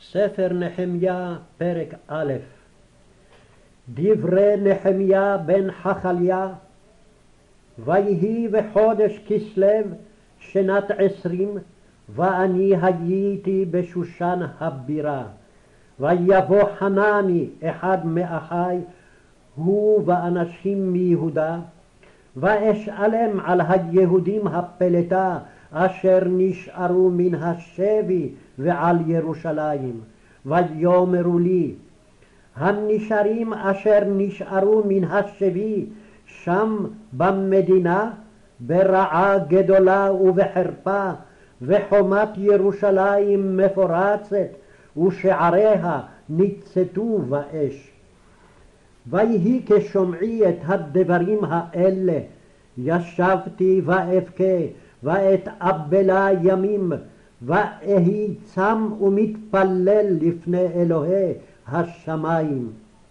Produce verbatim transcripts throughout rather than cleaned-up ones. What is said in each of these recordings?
ספר נחמיה, פרק א'. דברי נחמיה בן חכליה. ויהי בחודש כסלו שנת עשרים, ואני הייתי בשושן הבירה. ויבוא חנני אחד מאחי, הוא ואנשים מיהודה, ואשאלם על היהודים הפלטה אשר נשארו מן השבי ועל ירושלים. ויאמרו לי, הנשארים אשר נשארו מן השבי שם במדינה ברעה גדולה ובחרפה, וחומת ירושלים מפורצת ושעריה ניצתו באש. ויהי כשומעי את הדברים האלה, ישבתי ואבכה ואתאבלה ימים, ואהי צם ומתפלל לפני אלוהי השמיים.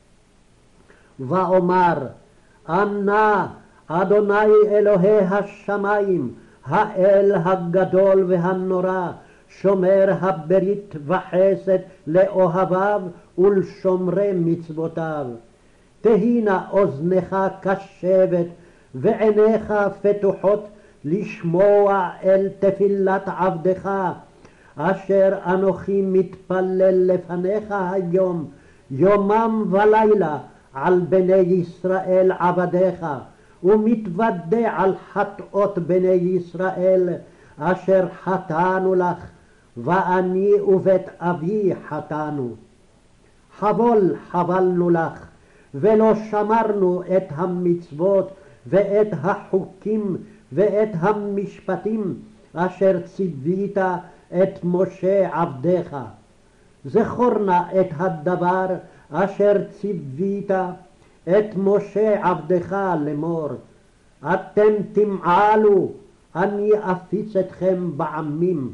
ואומר, אנא אדוני אלוהי השמיים, האל הגדול והנורא, שומר הברית וחסד לאוהביו ולשומרי מצוותיו. תהי נא אוזנך קשבת ועיניך פתוחות לשמוע אל תפילת עבדך, אשר אנוכי מתפלל לפניך היום יומם ולילה על בני ישראל עבדיך, ומתוודה על חטאות בני ישראל אשר חטאנו לך, ואני ובית אבי חטאנו. חבול חבלנו לך, ולא שמרנו את המצוות ואת החוקים ואת המשפטים אשר ציווית את משה עבדך. זכור נא את הדבר אשר ציווית את משה עבדך לאמור, אתם תמעלו, אני אפיץ אתכם בעמים.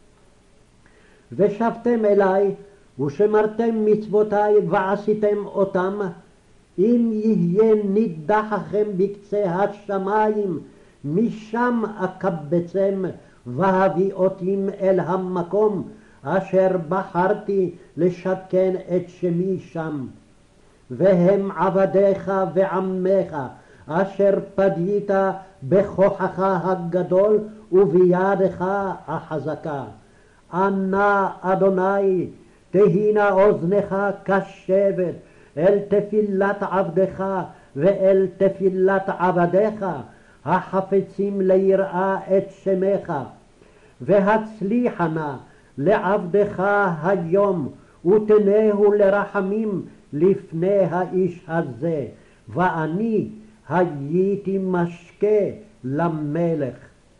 ושבתם אלי ושמרתם מצוותי ועשיתם אותם, אם יהיה נידחכם בקצה השמיים, משם אקבצם והביא אותם אל המקום אשר בחרתי לשכן את שמי שם. והם עבדיך ועמך אשר פדית בכוחך הגדול ובידך החזקה. אנא אדוני, תהי נא אוזנך קשבת אל תפילת עבדך ואל תפילת עבדיך החפצים ליראה את שמך, והצליחה נא לעבדך היום ותנהו לרחמים לפני האיש הזה, ואני הייתי משקה למלך.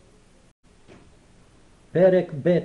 פרק ב'.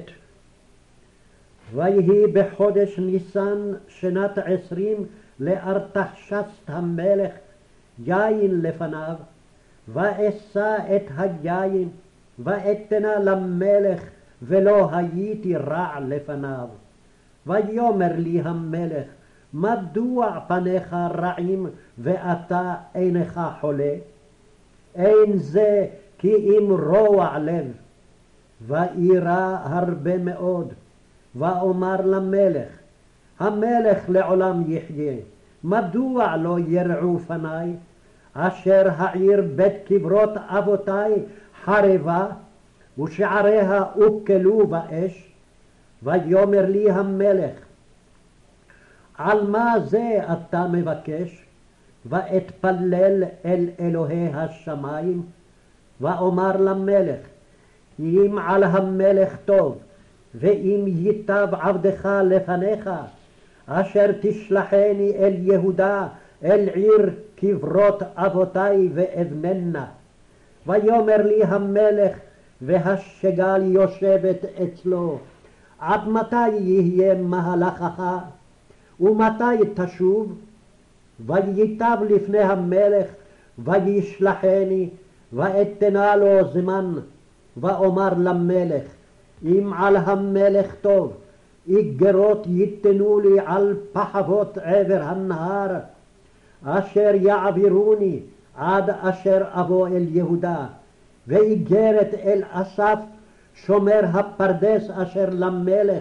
ויהי בחודש ניסן שנת עשרים לארתחשסט המלך יין לפניו, ואשא את היין ואתנה למלך, ולא הייתי רע לפניו. ויאמר לי המלך, מדוע פניך רעים ואתה אינך חולה? אין זה כי אם רוע לב. ואירא הרבה מאוד, ואומר למלך, המלך לעולם יחיה, מדוע לא ירעו פני, אשר העיר בית קברות אבותי חרבה, ושעריה הוקלו באש? ויאמר לי המלך, על מה זה אתה מבקש? ואתפלל אל אלוהי השמיים. ואומר למלך, אם על המלך טוב, ואם ייטב עבדך לפניך, אשר תשלחני אל יהודה, אל עיר קברות אבותי ואבננה. ויאמר לי המלך, והשגל יושבת אצלו, עד מתי יהיה מהלכך, ומתי תשוב? וייטב לפני המלך, וישלחני, ואתנה לו זמן. ואומר למלך, אם על המלך טוב, איגרות ייתנו לי על פחבות עבר הנהר, אשר יעבירוני עד אשר אבוא אל יהודה, ואיגרת אל אסף שומר הפרדס אשר למלך,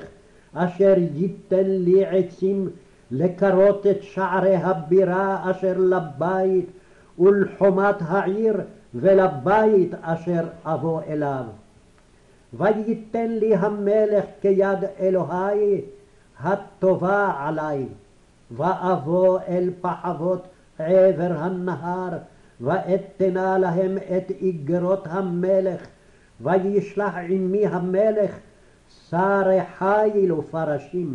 אשר ייתן לי עצים לקרות את שערי הבירה אשר לבית ולחומת העיר ולבית אשר אבוא אליו. וייתן לי המלך כיד אלוהי הטובה עלי, ואבוא אל פחבות עבר הנהר, ואתנה להם את איגרות המלך, וישלח עמי המלך שרי חיל ופרשים.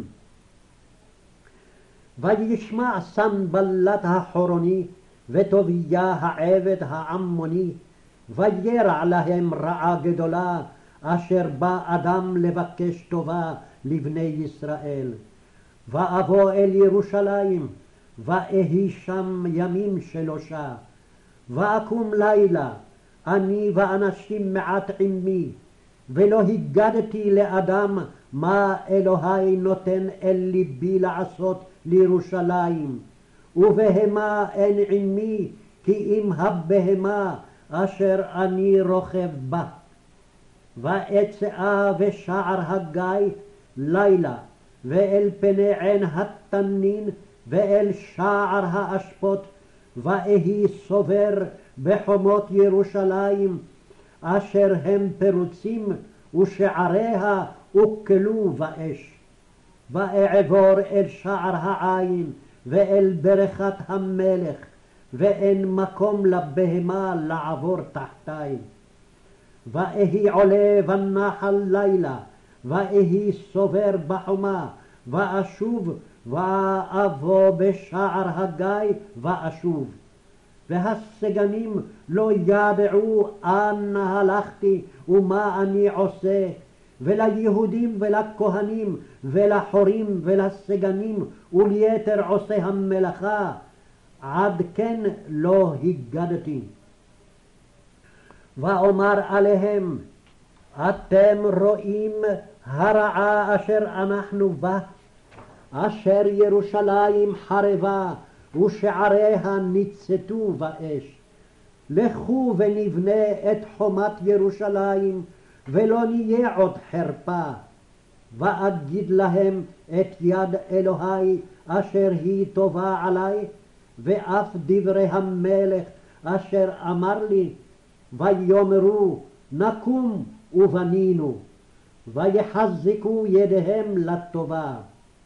וישמע סנבלת החורוני וטוביה העבד העמוני, וירע להם רעה גדולה, אשר בא אדם לבקש טובה לבני ישראל. ואבוא אל ירושלים, ואהי שם ימים שלושה, ואקום לילה, אני ואנשים מעט עמי, ולא הגדתי לאדם מה אלוהי נותן אל ליבי לעשות לירושלים, ובהמה אין עמי כי אם הבהמה אשר אני רוכב בה. ואצאה בשער הגיא לילה, ואל פני עין התנין, ואל שער האשפות, ואהי סובר בחומות ירושלים, אשר הם פרוצים, ושעריה הוקלו באש. ואעבור אל שער העין, ואל ברכת המלך, ואין מקום לבהמה לעבור תחתי. ואהי עולה בנחל לילה, ואהי סובר בחומה, ואשוב, ואבוא בשער הגיא, ואשוב. והסגנים לא ידעו אנה הלכתי ומה אני עושה, וליהודים ולכהנים ולחורים ולסגנים וליתר עושי המלאכה עד כן לא הגדתי. ואומר עליהם, אתם רואים הרעה אשר אנחנו בה, אשר ירושלים חרבה ושעריה ניצתו באש. לכו ונבנה את חומת ירושלים, ולא נהיה עוד חרפה. ואגיד להם את יד אלוהי אשר היא טובה עלי, ואף דברי המלך אשר אמר לי, ויאמרו נקום ובנינו, ויחזקו ידיהם לטובה.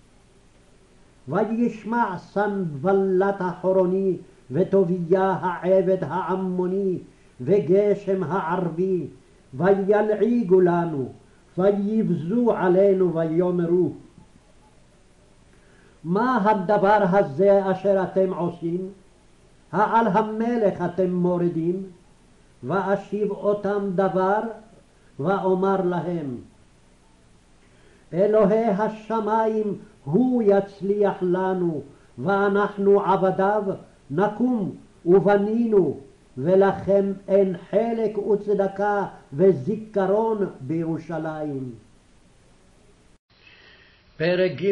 וישמע סנבלת החורוני וטוביה העבד העמוני וגשם הערבי, וילעיגו לנו, ויבזו עלינו ויאמרו, מה הדבר הזה אשר אתם עושים? העל המלך אתם מורידים? ואשיב אותם דבר, ואומר להם, אלוהי השמיים הוא יצליח לנו, ואנחנו עבדיו נקום ובנינו, ולכם אין חלק וצדקה וזיכרון בירושלים. פרק ג'.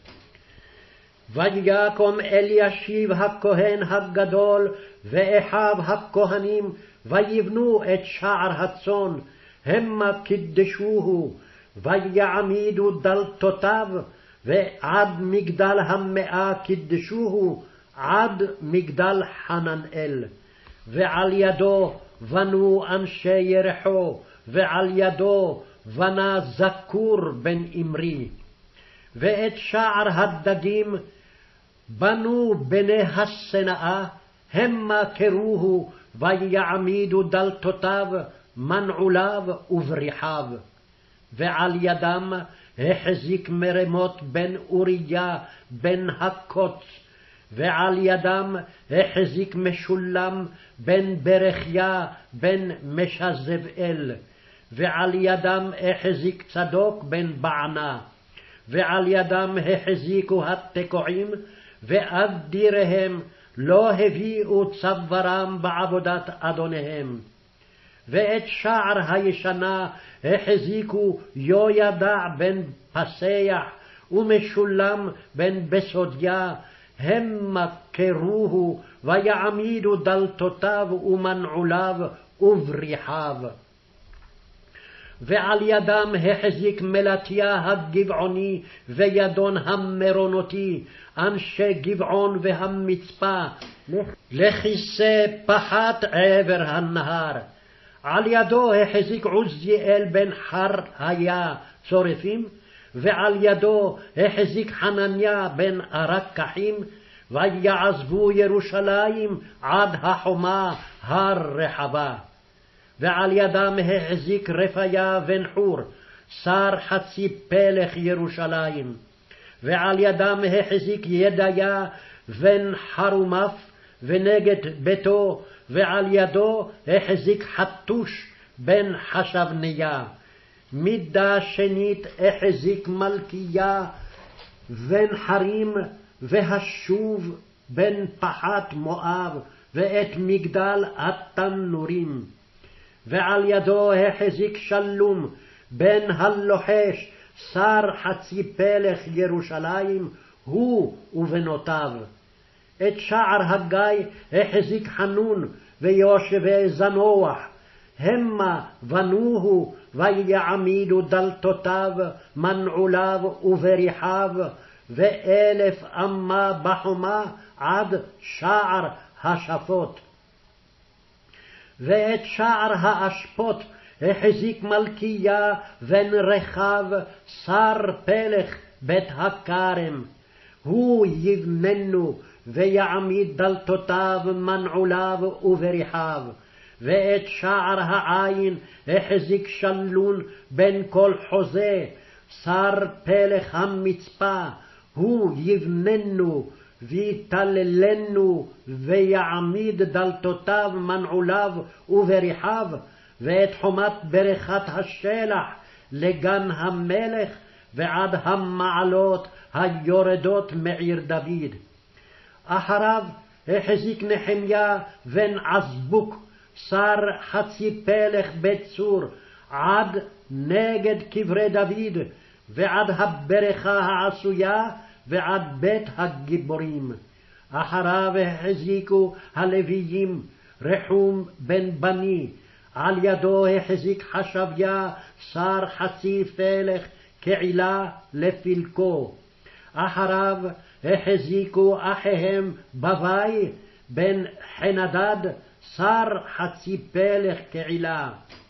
ויקום אלישיב הכהן הגדול ואחיו הכהנים, ויבנו את שער הצאן, המה קידשוהו, ויעמידו דלתותיו, ועד מגדל המאה קידשוהו, עד מגדל חננאל. ועל ידו בנו אנשי ירחו, ועל ידו בנה זכור בן אמרי. ואת שער הדגים בנו בני השנאה, המה קרוהו, ויעמידו דלתותיו, מנעוליו ובריחיו. ועל ידם החזיק מרמות בן אוריה בן הקוץ, ועל ידם החזיק משולם בן ברכיה בן משזבאל, ועל ידם החזיק צדוק בן בענה, ועל ידם החזיקו התקועים, ואדיריהם לא הביאו צווארם בעבודת אדוניהם. ואת שער הישנה החזיקו יהוידע בן פסח ומשולם בן בסודיה, המה קרוהו, ויעמידו דלתותיו ומנעוליו ובריחיו. ועל ידם החזיק מלטיה הגבעוני וידון המרונותי, אנשי גבעון והמצפה, לכיסא פחת עבר הנהר. על ידו החזיק עוזיאל בן חר היה צורפים, ועל ידו החזיק חנניה בן ארקחים, ויעזבו ירושלים עד החומה הר רחבה. ועל ידם החזיק רפיה בן חור, שר חצי פלך ירושלים. ועל ידם החזיק ידיה בן חרומף ונגד ביתו, ועל ידו החזיק חתוש בן חשבניה. מידה שנית החזיק מלכיה בן חרים והשוב בן פחת מואב, ואת מגדל התנורים. ועל ידו החזיק שלום בן הלוחש, שר חצי פלך ירושלים, הוא ובנותיו. את שער הגיא החזיק חנון ויושבי זנוח, המה בנוהו ויעמידו דלתותיו, מנעוליו ובריחיו, ואלף אמה בחומה עד שער השפות. ואת שער האשפות החזיק מלכיה בן רחב, שר פלך בית הכרם, הוא יבננו ויעמיד דלתותיו, מנעוליו ובריחיו. ואת שער העין החזיק שלון בן כל חוזה, שר פלך המצפה, הוא יבננו ויתללנו ויעמיד דלתותיו, מנעוליו ובריחיו. ואת חומת ברכת השלח לגן המלך, ועד המעלות היורדות מעיר דוד. אחריו החזיק נחמיה בן עזבוק, שר חצי פלך בית צור, עד נגד קברי דוד, ועד הברכה העשויה, ועד בית הגיבורים. אחריו החזיקו הלוויים רחום בן בני, על ידו החזיק חשביה, שר חצי פלך כעילה לפלקו. אחריו החזיקו אחיהם בבי בן חנדד, שר חצי פלך כעילה.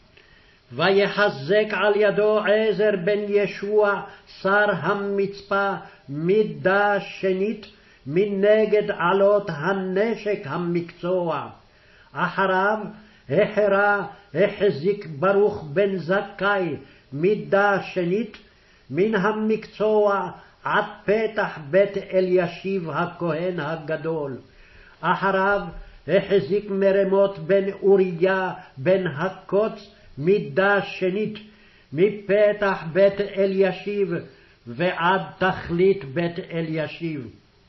ויחזק על ידו עזר בן ישוע, שר המצפה, מידה שנית מנגד עלות הנשק המקצוע. אחריו החרה החזיק ברוך בן זכאי, מידה שנית מן המקצוע עד פתח בית אלישיב הכהן הגדול. אחריו החזיק מרמות בן אוריה בן הקוץ, מידה שנית מפתח בית אלישיב ועד תכלית בית אלישיב.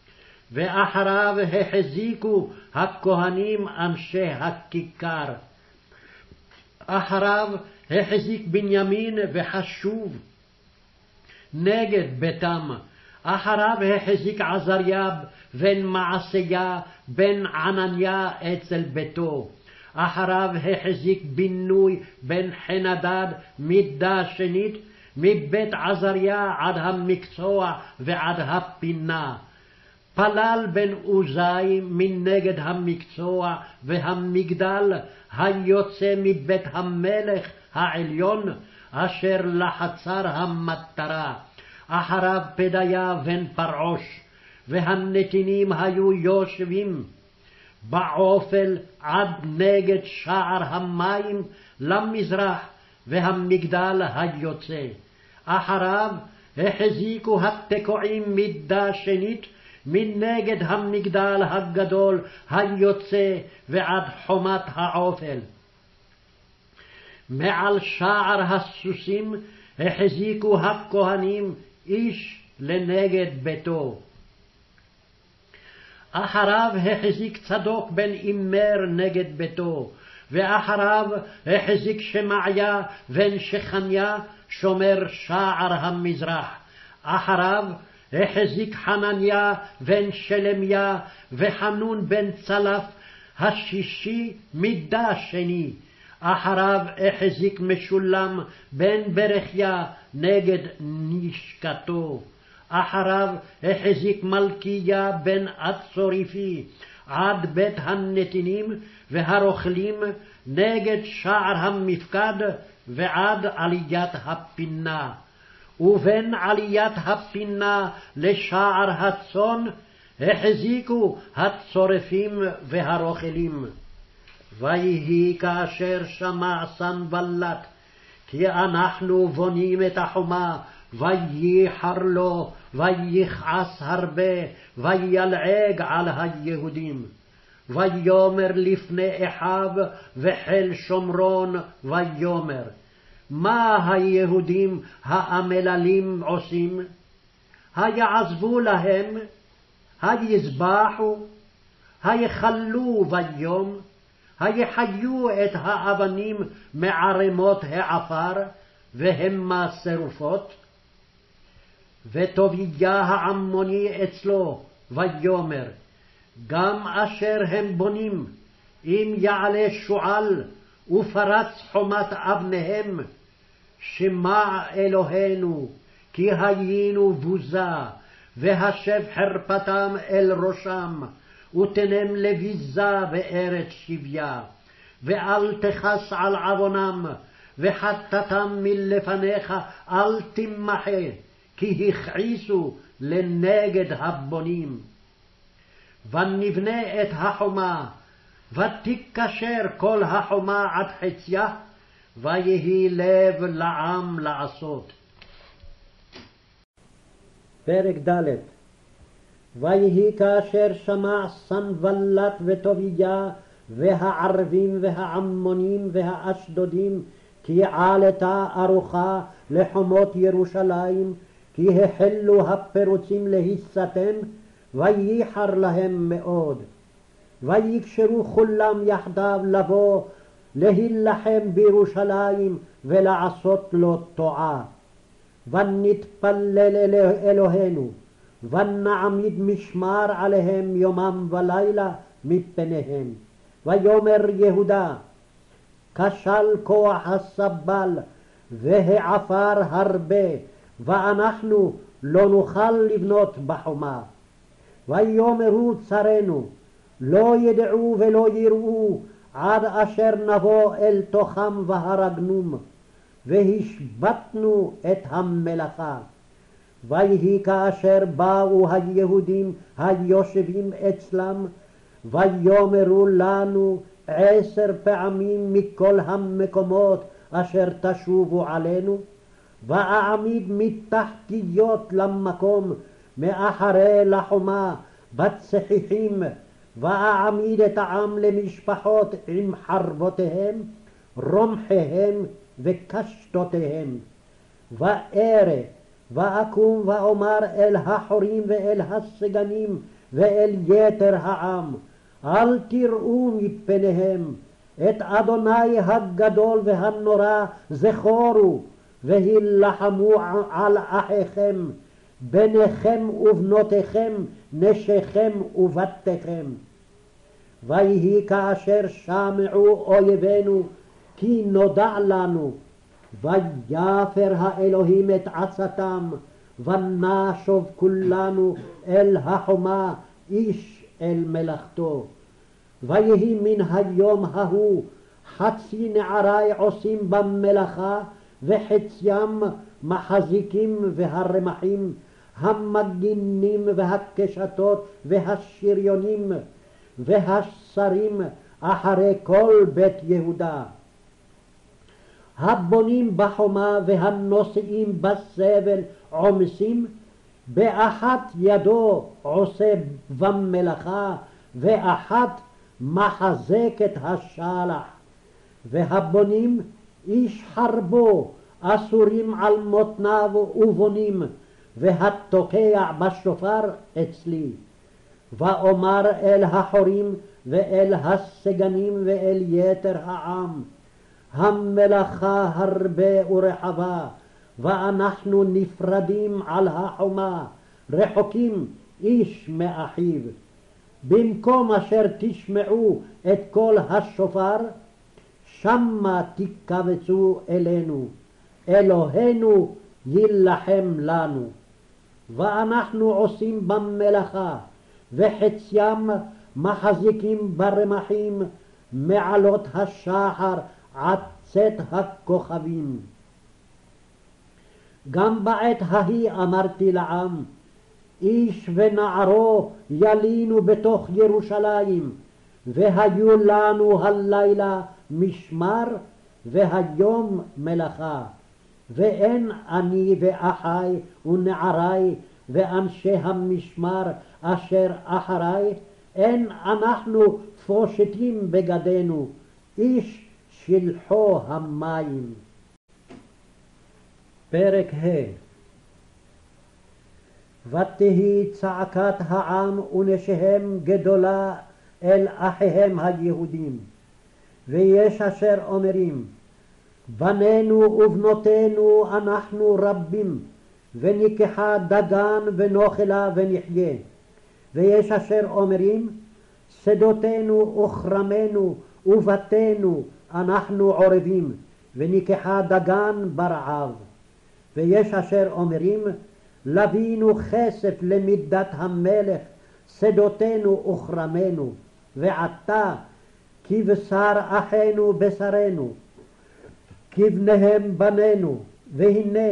ואחריו החזיקו הכהנים אנשי הכיכר. אחריו החזיק בנימין וחשוב נגד ביתם. אחריו החזיק עזריה בן מעשיה בן ענניה אצל ביתו. אחריו החזיק בינוי בן חנדד, מידה שנית מבית עזריה עד המקצוע ועד הפינה. פלל בן עוזי מנגד המקצוע והמגדל היוצא מבית המלך העליון, אשר לחצר המטרה. אחריו פדיה בן פרעוש, והנתינים היו יושבים בעופל עד נגד שער המים למזרח והמגדל היוצא. אחריו החזיקו התקועים מידה שנית מנגד המגדל הגדול היוצא ועד חומת העופל. מעל שער הסוסים החזיקו הכהנים איש לנגד ביתו. אחריו החזיק צדוק בן אימר נגד ביתו, ואחריו החזיק שמעיה בן שכניה שומר שער המזרח. אחריו החזיק חנניה בן שלמיה וחנון בן צלף השישי מידה שני. אחריו החזיק משולם בן ברכיה נגד נשקתו. אחריו החזיק מלכיה בן אצוריפי עד בית הנתינים והרוכלים נגד שער המפקד ועד עליית הפינה. ובין עליית הפינה לשער הצאן החזיקו הצורפים והרוכלים. ויהי כאשר שמע סנבלט כי אנחנו בונים את החומה, וייחר לו, ויכעס הרבה, וילעג על היהודים. ויאמר לפני אחיו וחיל שומרון, ויאמר, מה היהודים האמללים עושים? היעזבו להם, היזבחו, היחלו ביום, היחיו את האבנים מערמות העפר, והמה שרופות. וטוביה העמוני אצלו, ויאמר, גם אשר הם בונים, אם יעלה שועל ופרץ חומת אבניהם, שמע אלוהינו, כי היינו בוזה, והשב חרפתם אל ראשם, ותנם לביזה בארץ שביה, ואל תכס על עוונם, וחטאתם מלפניך אל תמחה, כי הכעיסו לנגד הבונים. ונבנה את החומה, ותיקשר כל החומה עד חציה, ויהי לב לעם לעשות. פרק ד'. ויהי כאשר שמע סנבלט וטוביה והערבים והעמונים והאשדודים כי עלתה ארוחה לחומות ירושלים, כי החלו הפירוצים להיסתם, וייחר להם מאוד. ויקשרו כולם יחדיו לבוא להילחם בירושלים ולעשות לו טועה. ונתפלל אל אלוהינו, ונעמיד משמר עליהם יומם ולילה מפניהם. ויאמר יהודה, כשל כוח הסבל והעפר הרבה, ואנחנו לא נוכל לבנות בחומה. ויאמרו צרינו, לא ידעו ולא יראו עד אשר נבוא אל תוכם והרגנום, והשבתנו את המלאכה. ויהי כאשר באו היהודים היושבים אצלם, ויאמרו לנו עשר פעמים מכל המקומות אשר תשובו עלינו, ואעמיד מתחתיות למקום מאחרי לחומה בצחיחים, ואעמיד את העם למשפחות עם חרבותיהם, רומחיהם וקשתותיהם. וארא ואקום ואומר אל החורים ואל הסגנים ואל יתר העם, אל תראו מפניהם, את אדוני הגדול והנורא זכורו, והילחמו על אחיכם, בניכם ובנותיכם, נשיכם ובתיכם. ויהי כאשר שמעו אויבינו כי נודע לנו, ויפר האלוהים את עצתם, ונשוב כולנו אל החומה, איש אל מלאכתו. ויהי מן היום ההוא חצי נערי עושים במלאכה, וחציים מחזיקים והרמחים, המגינים והקשתות והשריונים והשרים אחרי כל בית יהודה. הבונים בחומה והנושאים בסבל עומסים, באחת ידו עושה במלאכה, ואחת מחזקת השלח. והבונים איש חרבו אסורים על מותניו ובונים, והתוקע בשופר אצלי. ואומר אל החורים ואל הסגנים ואל יתר העם, המלאכה הרבה ורחבה, ואנחנו נפרדים על החומה, רחוקים איש מאחיו. במקום אשר תשמעו את קול השופר, שמה תקבצו אלינו, אלוהינו יילחם לנו. ואנחנו עושים במלאכה, וחציים מחזיקים ברמחים, מעלות השחר עד צאת הכוכבים. גם בעת ההיא אמרתי לעם, איש ונערו ילינו בתוך ירושלים, והיו לנו הלילה משמר והיום מלאכה. ואין אני ואחי ונערי ואנשי המשמר אשר אחרי, אין אנחנו פושטים בגדינו, איש שלחו המים. פרק ה'. ותהי צעקת העם ונשיהם גדולה אל אחיהם היהודים, ויש אשר אומרים, בנינו ובנותינו אנחנו רבים, וניקחה דגן ונאכלה ונחיה. ויש אשר אומרים, שדותינו וכרמנו ובתינו אנחנו עורבים, וניקחה דגן ברעב. ויש אשר אומרים, לבינו כסף למידת המלך, שדותינו וכרמנו, ועתה כבשר אחינו בשרנו, כבניהם בנינו, והנה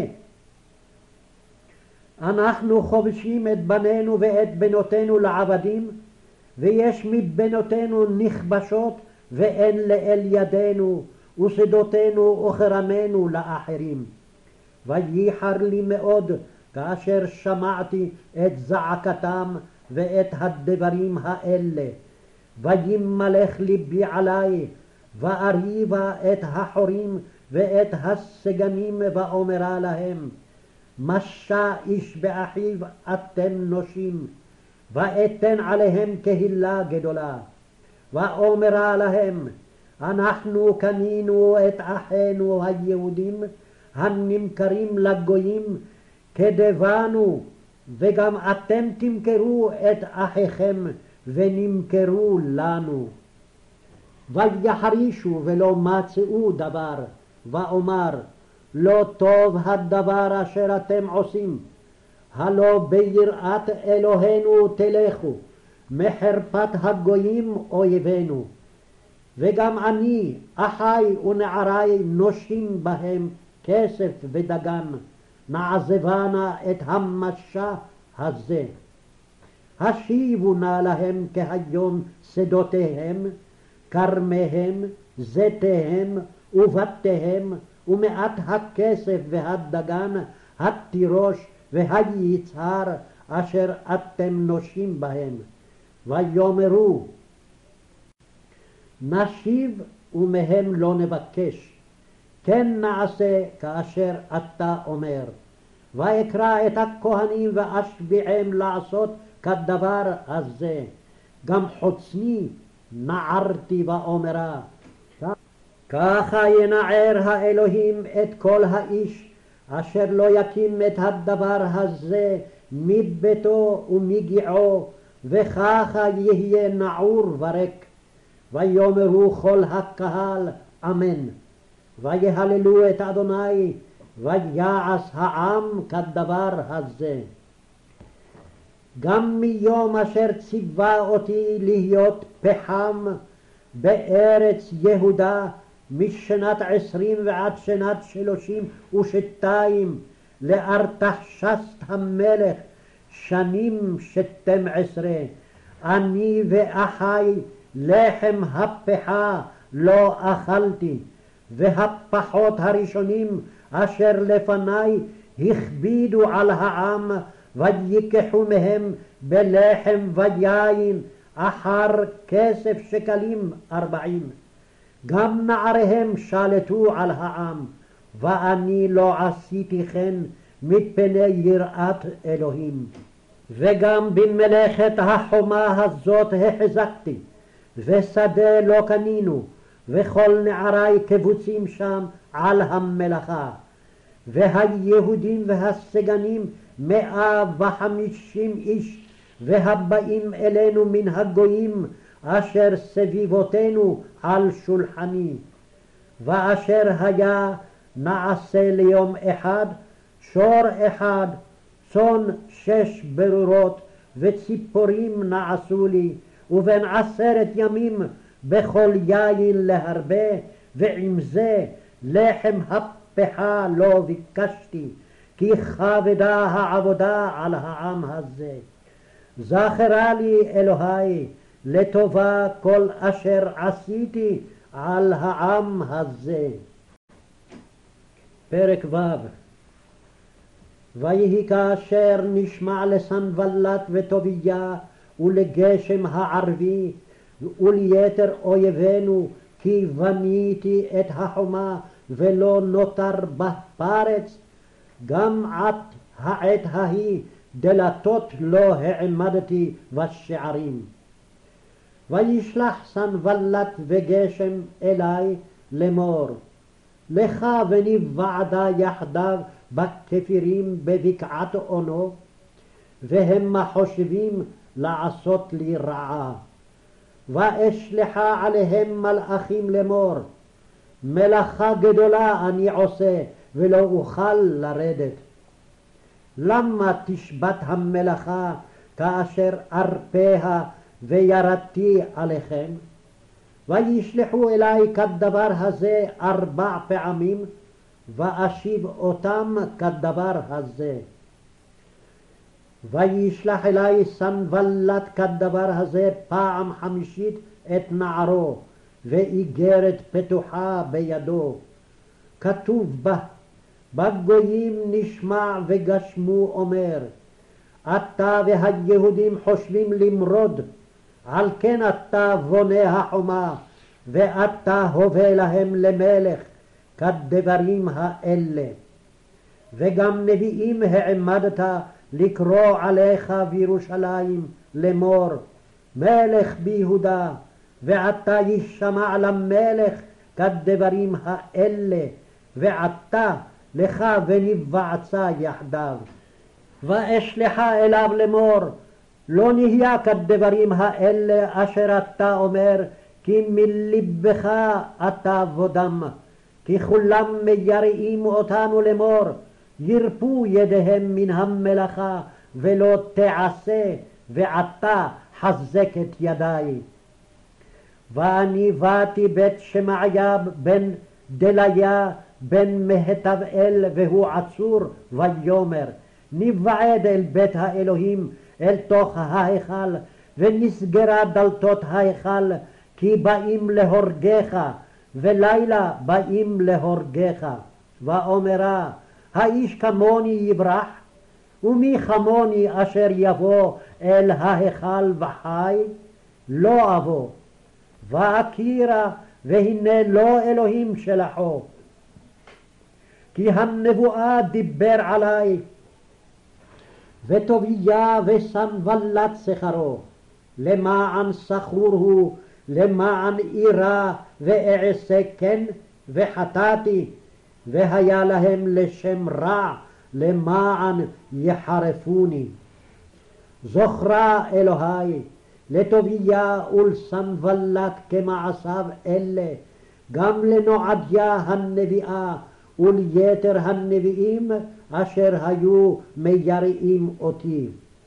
אנחנו חובשים את בנינו ואת בנותינו לעבדים, ויש מבנותינו נכבשות ואין לאל ידינו, ושדותינו וכרמנו לאחרים. וייחר לי מאוד כאשר שמעתי את זעקתם ואת הדברים האלה, וימלך ליבי עלי, ואריבה את החורים ואת הסגנים, ואומרה להם, משה איש באחיו אתם נושים, ואתן עליהם קהילה גדולה. ואומרה להם, אנחנו קנינו את אחינו היהודים הנמכרים לגויים כדבנו, וגם אתם תמכרו את אחיכם ונמכרו לנו. ויחרישו ולא מצאו דבר, ואומר, לא טוב הדבר אשר אתם עושים, הלא ביראת אלוהינו תלכו, מחרפת הגויים אויבינו. וגם אני, אחי ונערי נושים בהם כסף ודגן, נעזבנה את המשה הזה. השיבו נא להם כהיום שדותיהם, כרמיהם, זיתיהם ובתיהם, ומעט הכסף והדגן, התירוש והיצהר אשר אתם נושים בהם. ויאמרו, נשיב ומהם לא נבקש, כן נעשה כאשר אתה אומר. ואקרא את הכהנים ואשביעם לעשות כדבר הזה. גם חוצני נערתי ואומרה, ככה ינער האלוהים את כל האיש אשר לא יקים את הדבר הזה מביתו ומגיעו, וככה יהיה נעור וריק. ויאמרו כל הקהל אמן, ויהללו את אדוני, ויעש העם כדבר הזה. גם מיום אשר ציווה אותי להיות פחם בארץ יהודה, משנת עשרים ועד שנת שלושים ושתיים, לארתחשסט המלך, שנים שתים עשרה, אני ואחי לחם הפחה לא אכלתי, והפחות הראשונים אשר לפני הכבידו על העם, ויקחו מהם בלחם ויין אחר כסף שקלים ארבעים. גם נעריהם שלטו על העם, ואני לא עשיתי כן מפני יראת אלוהים. וגם במלאכת החומה הזאת החזקתי, ושדה לא קנינו, וכל נערי קבוצים שם על המלאכה. והיהודים והסגנים מאה וחמישים איש, והבאים אלינו מן הגויים אשר סביבותינו על שולחני. ואשר היה נעשה ליום אחד, שור אחד, צאן שש ברורות, וציפורים נעשו לי, ובין עשרת ימים בכל יין להרבה, ועם זה לחם הפכה לא ביקשתי, כי כבדה העבודה על העם הזה. זכרה לי אלוהי לטובה כל אשר עשיתי על העם הזה. פרק ו'. ויהי כאשר נשמע לסנבלת וטוביה ולגשם הערבי וליתר אויבינו, כי בניתי את החומה ולא נותר בה פרץ, גם עד העת ההיא דלתות לא העמדתי בשערים. וישלח סנבלת וגשם אלי לאמור, לך ונבעדה יחדיו בכפירים בבקעת אונו, והמה חושבים לעשות לי רעה. ואשלחה עליהם מלאכים לאמור, מלאכה גדולה אני עושה ולא אוכל לרדת. למה תשבת המלאכה כאשר ארפיה וירדתי עליכם? וישלחו אלי כדבר הזה ארבע פעמים, ואשיב אותם כדבר הזה. וישלח אלי סנבלת כדבר הזה פעם חמישית את נערו, ואיגרת פתוחה בידו. כתוב בה, בגויים נשמע וגשמו אומר, אתה והיהודים חושבים למרוד, על כן אתה בונה החומה, ואתה הווה להם למלך, כדברים האלה. וגם נביאים העמדת לקרוא עליך בירושלים לאמור, מלך ביהודה, ועתה ישמע למלך כדברים האלה, ועתה לך ונבעצה יחדיו. ואשלחה אליו לאמור, לא נהיה כדברים האלה אשר אתה אומר, כי מלבך אתה בודם, כי כולם מייראים אותנו לאמור, ירפו ידיהם מן המלאכה ולא תעשה, ועתה חזק את ידי. ואני באתי בית שמעיה בן דליה בן מהתבאל, והוא עצור, ויאמר, נבעד אל בית האלוהים אל תוך ההיכל, ונסגרה דלתות ההיכל, כי באים להורגך, ולילה באים להורגך. ואומרה, האיש כמוני יברח, ומי כמוני אשר יבוא אל ההיכל וחי? לא אבוא. ואכירה, והנה לא אלוהים שלחו, כי הנבואה דיבר עלי. וטוביה וסנבלת שכרו, למען שכור הוא, למען אירה ואעשה כן, וחטאתי, והיה להם לשם רע, למען יחרפוני. זוכרה אלוהי לטוביה ולסנבלת כמעשיו אלה, גם לנועדיה הנביאה וליתר הנביאים אשר היו מייראים אותי.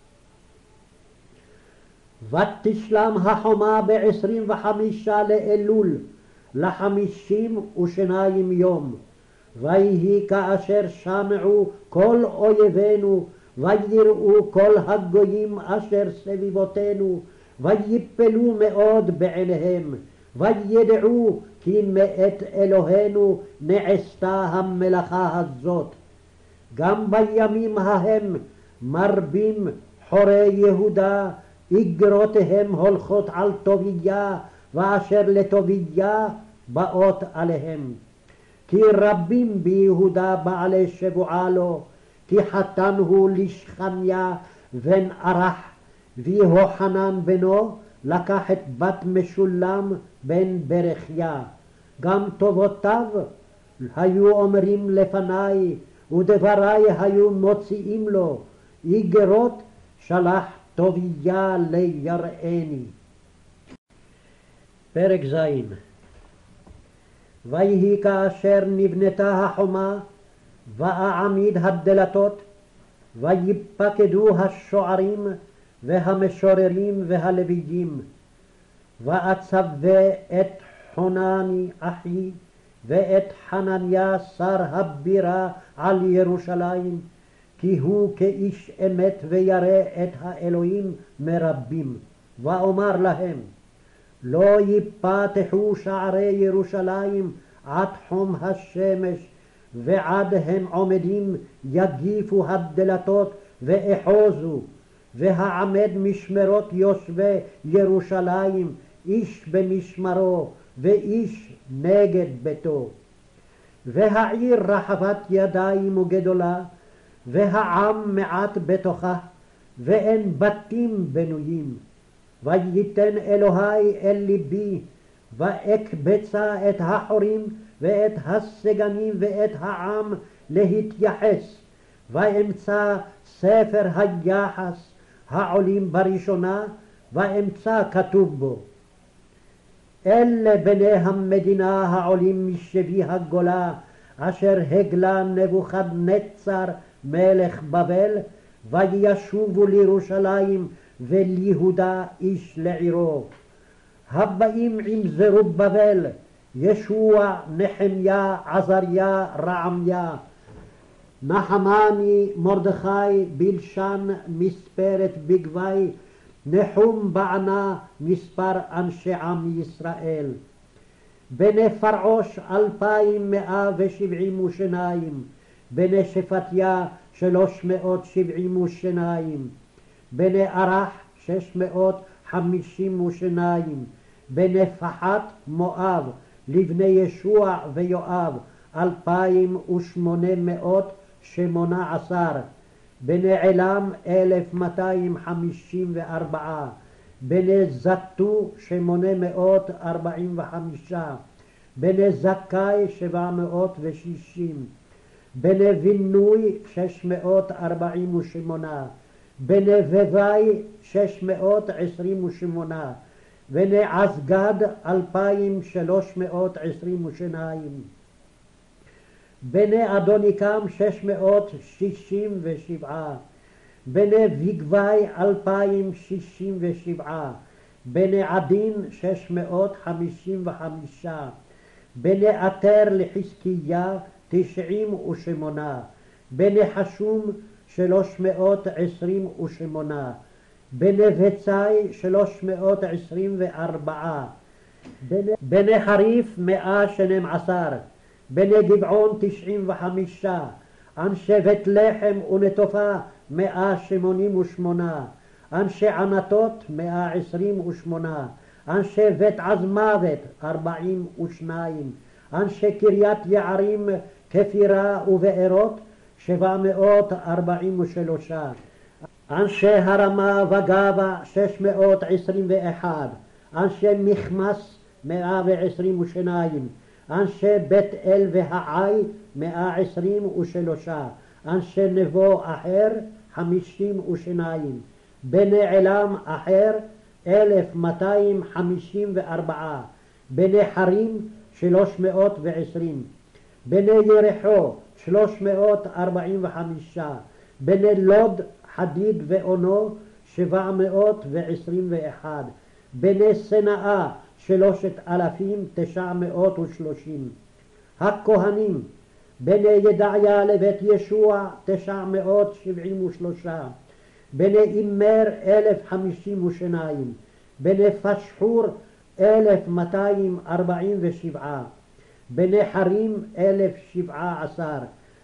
ותשלם החומה בעשרים וחמישה לאלול, לחמישים ושניים יום. ויהי כאשר שמעו כל אויבינו, ויראו כל הגויים אשר סביבותינו, ויפלו מאוד בעיניהם, וידעו כי מאת אלוהינו נעשתה המלאכה הזאת. גם בימים ההם מרבים חורי יהודה, איגרותיהם הולכות על טוביה, ואשר לטוביה באות עליהם. כי רבים ביהודה בעלי שבועה לו, כי חתן הוא לשכניה בן ערך, ויהוחנן בנו לקח את בת משולם בן ברכיה. גם טובותיו היו אומרים לפניי, ודבריי היו מוציאים לו, איגרות שלח טוביה ליראני. פרק ז'. ויהי כאשר נבנתה החומה, ואעמיד הדלתות, ויפקדו השוערים והמשוררים והלוויים, ואצווה את חנני אחי ואת חנניה שר הבירה על ירושלים, כי הוא כאיש אמת וירא את האלוהים מרבים. ואומר להם, לא יפתחו שערי ירושלים עד חום השמש, ועד הם עומדים יגיפו הדלתות ואחוזו, והעמד משמרות יושבי ירושלים, איש במשמרו ואיש נגד ביתו. והעיר רחבת ידיים וגדולה, והעם מעט בתוכה, ואין בתים בנויים. וייתן אלוהי אל ליבי, ואקבצה את החורים ואת הסגנים ואת העם להתייחס, ואמצא ספר היחס העולים בראשונה, ואמצא כתוב בו, אלה בני המדינה העולים משבי הגולה, אשר הגלה נבוכדנצר מלך בבל, וישובו לירושלים וליהודה איש לעירו. הבאים עם זרובבל, ישוע, נחמיה, עזריה, רעמיה, נחמני, מרדכי, בלשן, מספרת בגבי, נחום בענה, מספר אנשי עם ישראל. בני פרעוש אלפיים מאה ושבעים ושניים, בני שפטיה שלוש מאות שבעים ושניים, בני ערך שש מאות חמישים ושניים, בני פחת מואב, לבני ישוע ויואב אלפיים ושמונה מאות שמונה עשר, בני עילם אלף מאתיים חמישים וארבעה, בני זתו שמונה מאות ארבעים וחמישה, בני זכאי שבע מאות ושישים, בני בינוי שש מאות ארבעים ושמונה, בני בבי שש מאות עשרים ושמונה, בני עזגד אלפיים שלוש מאות עשרים ושניים, בני אדוניקם שש מאות שישים ושבעה, בני בגבי אלפיים שישים ושבעה, בני עדין שש מאות חמישים וחמישה, בני עטר לחזקיה תשעים ושמונה, בני חשום שלוש מאות עשרים ושמונה, בני בצי שלוש מאות עשרים וארבעה, בני חריף מאה שנים עשר, בני גבעון תשעים וחמישה, אנשי בית לחם ונטופה מאה שמונים ושמונה, אנשי ענתות מאה עשרים ושמונה, אנשי בית עזמוות ארבעים ושניים, אנשי קריית יערים כפירה ובארות שבע מאות ארבעים ושלושה, אנשי הרמה וגבה שש מאות עשרים ואחד, אנשי מכמס מאה ועשרים ושניים, אנשי בית אל והעי מאה עשרים ושלושה, אנשי נבו אחר חמישים ושניים, בני עילם אחר אלף מאתיים חמישים וארבעה, בני חרים שלוש מאות ועשרים, בני ירחו שלוש מאות ארבעים וחמישה, בני לוד חדיד ואונו שבע מאות ועשרים ואחד, בני סנאה שלושת אלפים תשע מאות ושלושים, הכהנים בני ידעיה לבית ישוע תשע מאות שבעים ושלושה, בני אימר אלף חמישים ושניים, בני פשחור אלף מאתיים ארבעים ושבעה, בני חרים אלף שבעה עשר,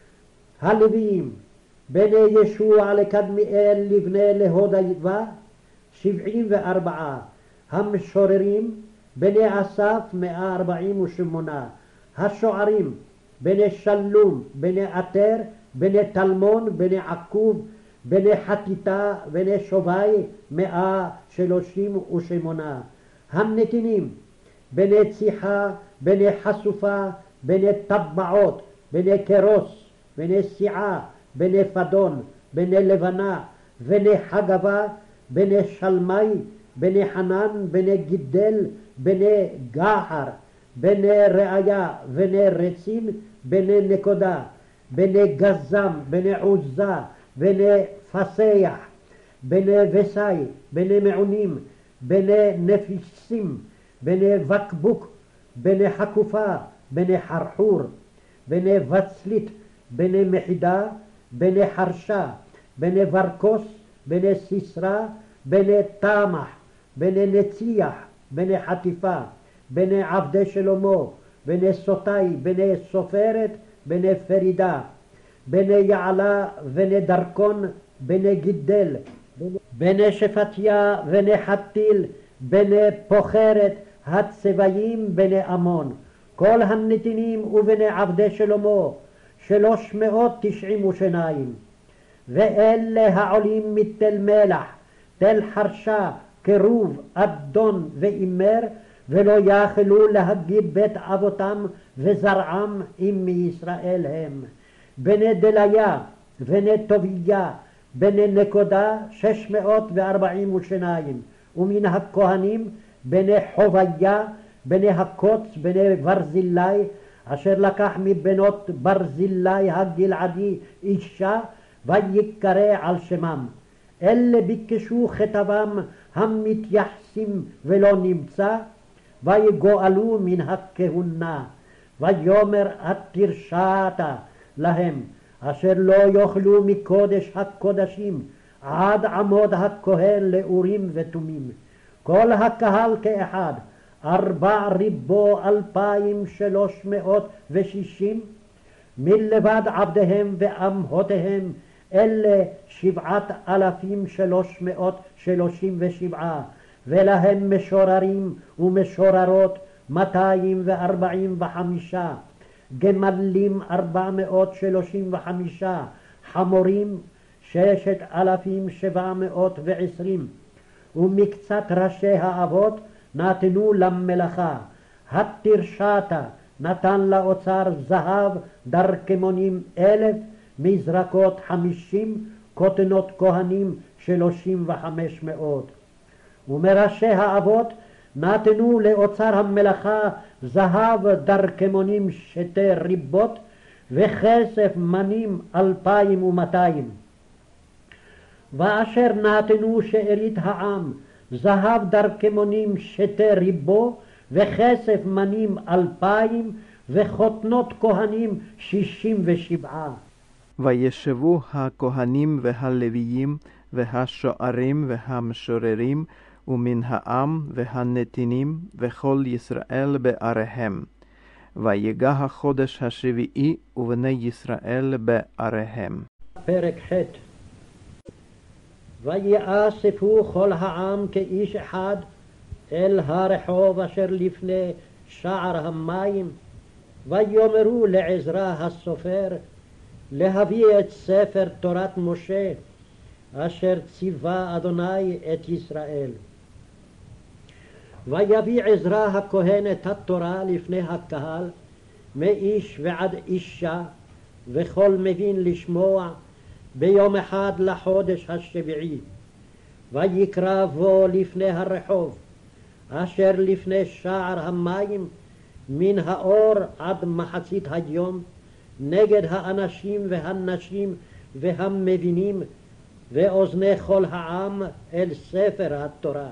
הלוויים בני ישוע לקדמיאל לבני להודייבה שבעים וארבעה, המשוררים בני אסף מאה ארבעים ושמונה, השוערים בני שלום, בני עטר, בני תלמון, בני עקוב, בני חתיתה, בני שובי מאה שלושים ושמונה, הנתינים בני ציחה, בני חשופה, בני טבעות, בני קרוס, בני סיעה, בני פדון, בני לבנה, בני חגבה, בני שלמי, בני חנן, בני גידל, בני גחר, בני ראיה, בני רצין, בני נקודה, בני גזם, בני עוזה, בני פסח, בני וסי, בני מעונים, בני נפיסים, בני בקבוק, בני חקופה, בני חרחור, בני וצלית, בני מחידה, בני חרשה, בני ורקוס, בני סיסרא, בני תמח, בני נציח, בני חטיפה, בני עבדי שלמה, בני סוטי, בני סופרת, בני פרידה, בני יעלה, בני דרכון, בני גידל, בני שפטיה, בני חתיל, בני פוחרת, הצבעים, בני עמון, כל הנתינים ובני עבדי שלמה, שלוש מאות תשעים ושניים. ואלה העולים מתל מלח, תל חרשה, קירוב, אדון ואימר, ולא יכלו להגיד בית אבותם וזרעם אם מישראל הם. בני דליה, בני טוביה, בני נקודה, שש מאות וארבעים ושניים. ומן הכהנים, בני חוביה, בני הקוץ, בני ברזילי, אשר לקח מבנות ברזילי הגלעדי אישה, ויקרא על שמם. אלה ביקשו כתבם המתייחסים ולא נמצא, ויגואלו מן הכהונה. ויאמר התרשעת להם, אשר לא יאכלו מקודש הקודשים, עד עמוד הכהן לאורים ותומים. כל הקהל כאחד, ארבע ריבו אלפיים שלוש מאות ושישים, מלבד עבדיהם ואמהותיהם, אלה שבעת אלפים שלוש מאות שלושים ושבעה, ולהם משוררים ומשוררות מאתיים וארבעים וחמישה, גמלים ארבע מאות שלושים וחמישה, חמורים ששת אלפים שבע מאות ועשרים, ומקצת ראשי האבות נתנו למלאכה. התרשתה נתן לאוצר זהב דרכמונים אלף, מזרקות חמישים, כותנות כהנים שלושים וחמש מאות. ומראשי האבות נתנו לאוצר המלאכה זהב דרכמונים שתי ריבות, וכסף מנים אלפיים ומאתיים. ואשר נתנו שארית העם זהב דרכמונים שתי ריבו, וכסף מנים אלפיים, וכותנות כהנים שישים ושבעה. וישבו הכהנים והלוויים והשוערים והמשוררים ומן העם והנתינים וכל ישראל בעריהם. ויגע החודש השביעי ובני ישראל בעריהם. פרק ח'. ויאספו כל העם כאיש אחד אל הרחוב אשר לפני שער המים, ויאמרו לעזרא הסופר להביא את ספר תורת משה אשר ציווה אדוני את ישראל. ויביא עזרא הכהן את התורה לפני הקהל, מאיש ועד אישה, וכל מבין לשמוע, ביום אחד לחודש השביעי. ויקרא בו לפני הרחוב אשר לפני שער המים, מן האור עד מחצית היום, נגד האנשים והנשים והמבינים, ואוזני כל העם אל ספר התורה.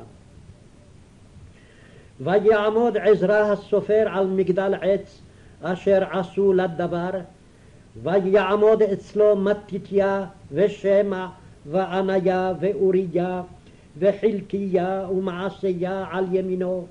ויעמוד עזרא הסופר על מגדל עץ אשר עשו לדבר, ויעמוד אצלו מתתיה ושמע ועניה ואוריה וחלקיה ומעשיה על ימינו,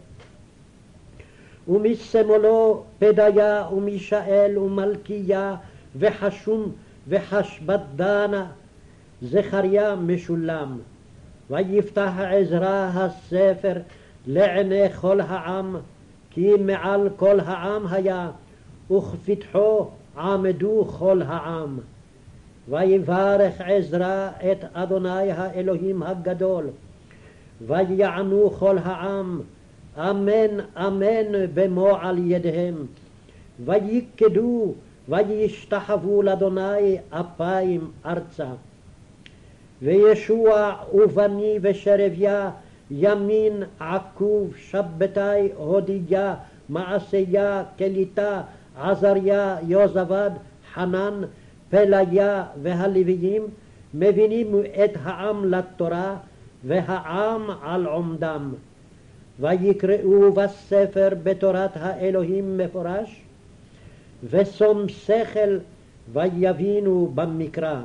ומשמאלו פדיה ומישאל ומלכיה וחשום וחשבדנה, זכריה משולם. ויפתח עזרא הספר לעיני כל העם, כי מעל כל העם היה, וכפתחו עמדו כל העם. ויברך עזרא את אדוני האלוהים הגדול, ויענו כל העם אמן אמן במו על ידיהם, ויקדו וישתחוו לאדוני אפיים ארצה. וישוע ובני ושרביה, ימין עקוב, שבתי, הודיה מעשיה, קליטה, עזריה, יוזבד, חנן, פליה והלוויים, מבינים את העם לתורה והעם על עומדם. ויקראו בספר בתורת האלוהים מפורש, ושום שכל ויבינו במקרא.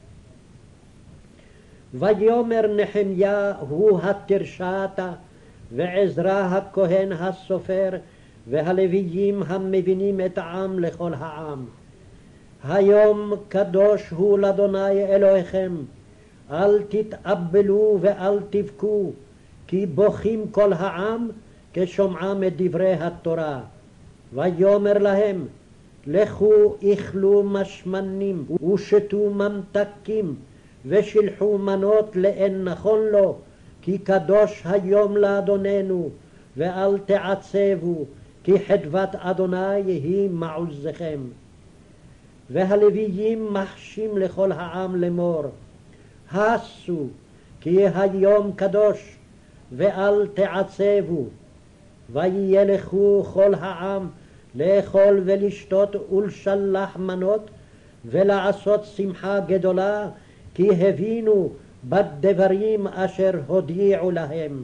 ויאמר נחמיה הוא התרשעתה, ועזרא הכהן הסופר, והלוויים המבינים את העם לכל העם. היום קדוש הוא לאדוני אלוהיכם, אל תתאבלו ואל תבכו, כי בוכים כל העם כשומעם את דברי התורה. ויאמר להם, לכו אכלו משמנים ושתו ממתקים, ושלחו מנות לאין נכון לו, כי קדוש היום לאדוננו, ואל תעצבו, כי חדוות אדוני היא מעוזכם. והלוויים מחשים לכל העם לאמור, הסו, כי היום קדוש, ואל תעצבו. וילכו כל העם לאכול ולשתות ולשלח מנות, ולעשות שמחה גדולה, כי הבינו בדברים אשר הודיעו להם.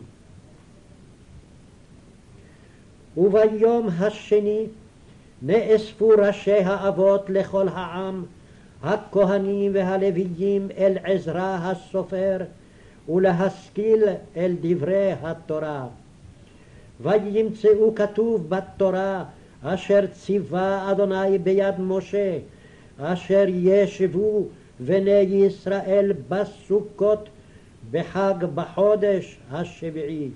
וביום השני נאספו ראשי האבות לכל העם, הכהנים והלוויים אל עזרא הסופר, ולהשכיל אל דברי התורה. וימצאו כתוב בתורה אשר ציווה אדוני ביד משה, אשר ישבו בני ישראל בסוכות בחג בחודש השביעי.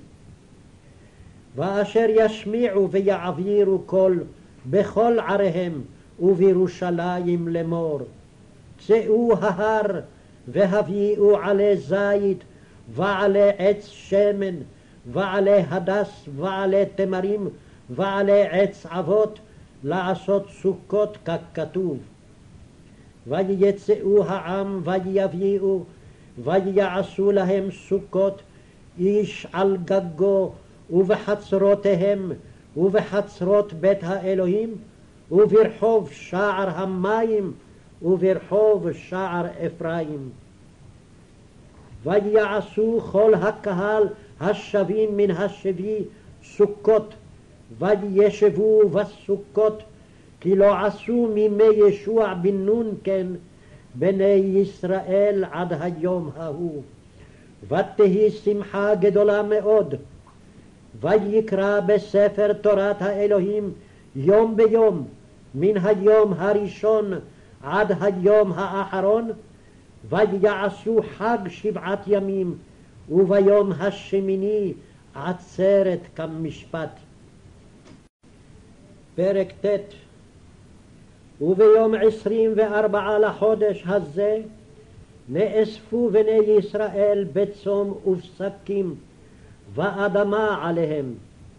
ואשר ישמיעו ויעבירו קול בכל עריהם ובירושלים לאמור, צאו ההר והביאו עלי זית ועלי עץ שמן ועלי הדס ועלי תמרים ועלי עץ אבות, לעשות סוכות ככתוב. ויצאו העם ויביאו ויעשו להם סוכות, איש על גגו ובחצרותיהם ובחצרות בית האלוהים, וברחוב שער המים וברחוב שער אפרים. ויעשו כל הקהל השבים מן השבי סוכות, וישבו בסוכות, כי לא עשו מימי ישוע בן נון כן בני ישראל עד היום ההוא. ותהי שמחה גדולה מאוד. ויקרא בספר תורת האלוהים יום ביום, מן היום הראשון עד היום האחרון, ויעשו חג שבעת ימים, וביום השמיני עצרת כמשפט. פרק ט'. וביום עשרים וארבעה לחודש הזה נאספו בני ישראל בצום ובשקים, ואדמה עליהם.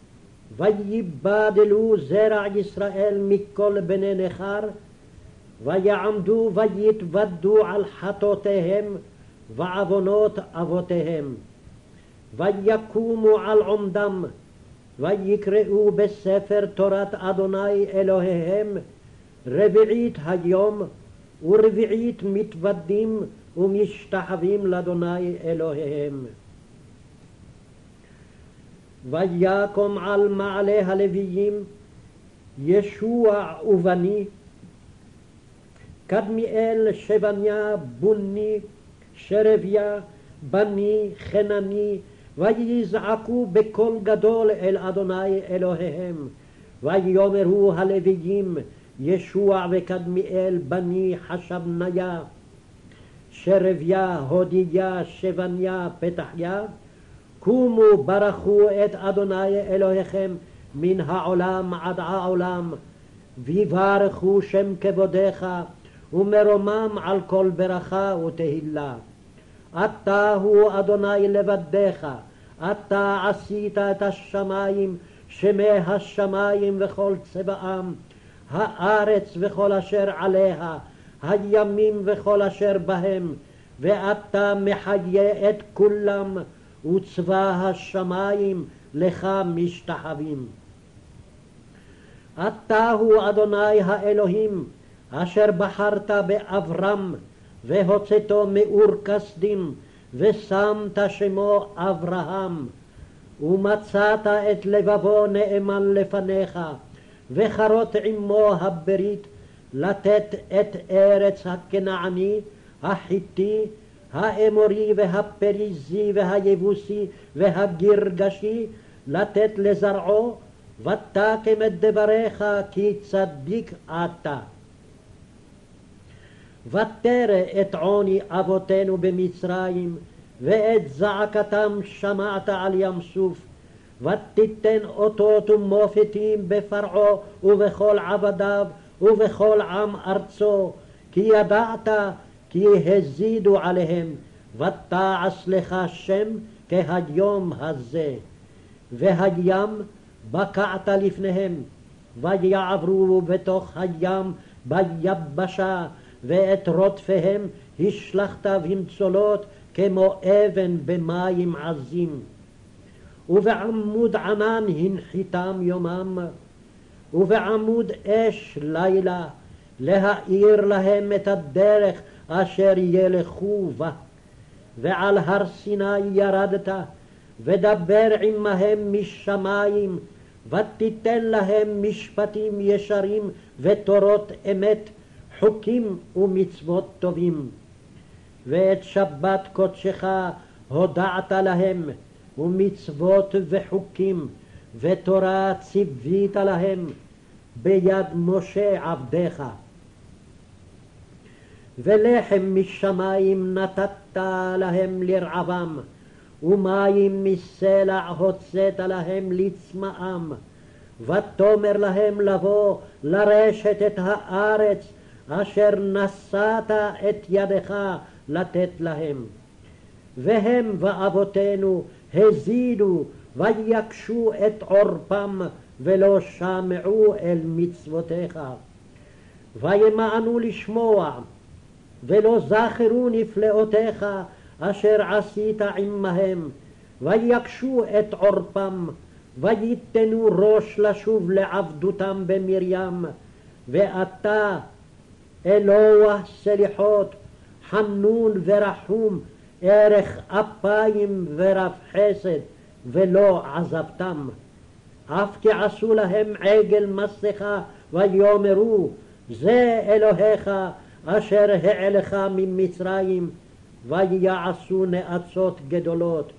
ויבדלו זרע ישראל מכל בני נכר, ויעמדו ויתוודו על חטאותיהם ועוונות אבותיהם. ויקומו על עומדם, ויקראו בספר תורת אדוני אלוהיהם רביעית היום, ורביעית מתוודים ומשתחווים לאדוני אלוהיהם. ויקום על מעלה הלוויים ישוע ובני, קדמיאל שבניה בוני, שרביה בני חנני, ויזעקו בקול גדול אל אדוני אלוהיהם. ויאמרו הלוויים ישוע וקדמיאל בני חשבניה, שרביה הודיה שבניה פתחיה, קומו ברכו את אדוני אלוהיכם מן העולם עד העולם, ויברכו שם כבודך, ומרומם על כל ברכה ותהילה. אתה הוא אדוני לבדך, אתה עשית את השמיים, שמי השמיים וכל צבאם, הארץ וכל אשר עליה, הימים וכל אשר בהם, ואתה מחיה את כולם, וצבא השמיים לך משתחווים. אתה הוא אדוני האלוהים, אשר בחרת באברהם, והוצאתו מאור כסדים, ושמת שמו אברהם. ומצאת את לבבו נאמן לפניך, וחרות עמו הברית, לתת את ארץ הכנעני, החיתי, האמורי והפריזי והיבוסי והגרגשי, לתת לזרעו, ותקם את דבריך כי צדיק אתה. ותרא את עוני אבותינו במצרים, ואת זעקתם שמעת על ים סוף, ותיתן אותות ומופתים בפרעה ובכל עבדיו ובכל עם ארצו, כי ידעת כי הזידו עליהם, ותעש לך שם כהיום הזה. והים בקעת לפניהם, ויעברו בתוך הים ביבשה, ואת רודפיהם השלכת במצולות כמו אבן במים עזים. ובעמוד ענן הנחיתם יומם, ובעמוד אש לילה, להאיר להם את הדרך אשר ילכו בה. ועל הר סיני ירדת, ודבר עמהם משמיים, ותיתן להם משפטים ישרים ותורות אמת, חוקים ומצוות טובים. ואת שבת קודשך הודעת להם, ומצוות וחוקים ותורה ציווית להם ביד משה עבדך. ולחם משמיים נתת להם לרעבם, ומים מסלע הוצאת להם לצמאם. ותאמר להם לבוא לרשת את הארץ אשר נשאת את ידך לתת להם. והם ואבותינו הזידו ויקשו את עורפם, ולא שמעו אל מצוותיך. וימאנו לשמוע, ולא זכרו נפלאותיך אשר עשית עמהם, ויקשו את עורפם, ויתנו ראש לשוב לעבדותם במרים. ואתה אלוה סליחות, חנון ורחום, ערך אפיים ורב חסד, ולא עזבתם. אף כי עשו להם עגל מסכה, ויאמרו זה אלוהיך אשר העלך ממצרים, ויעשו נאצות גדולות.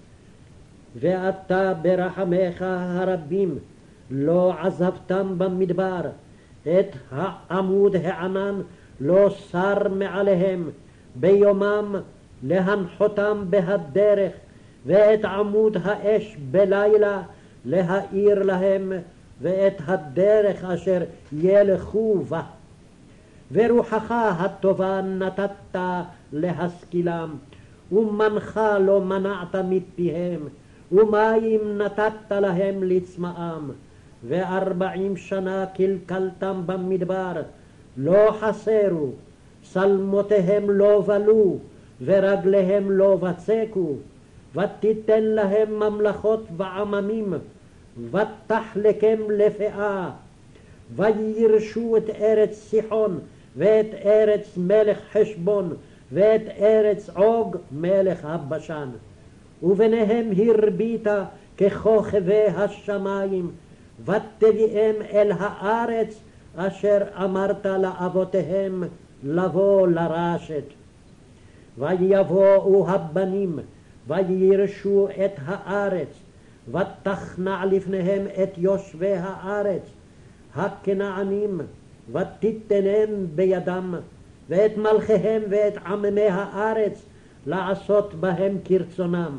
ואתה ברחמך הרבים לא עזבתם במדבר, את העמוד הענן לא סר מעליהם, ביומם להנחותם בהדרך, ואת עמוד האש בלילה להאיר להם, ואת הדרך אשר ילכו בה. ורוחך הטובה נתת להשכילם, ומנחה לא מנעת מפיהם, ומים נתת להם לצמאם. וארבעים שנה קלקלתם במדבר, לא חסרו, שלמותיהם לא בלו, ורגליהם לא בצקו. ותיתן להם ממלכות ועממים, ותחלקם לפאה. וירשו את ארץ סיחון, ואת ארץ מלך חשבון, ואת ארץ עוג מלך הבשן. וביניהם הרבית ככוכבי השמיים, ותביאם אל הארץ אשר אמרת לאבותיהם לבוא לרשת. ויבואו הבנים, וירשו את הארץ, ותכנע לפניהם את יושבי הארץ, הכנענים, ותיתנם בידם, ואת מלכיהם ואת עממי הארץ, לעשות בהם כרצונם.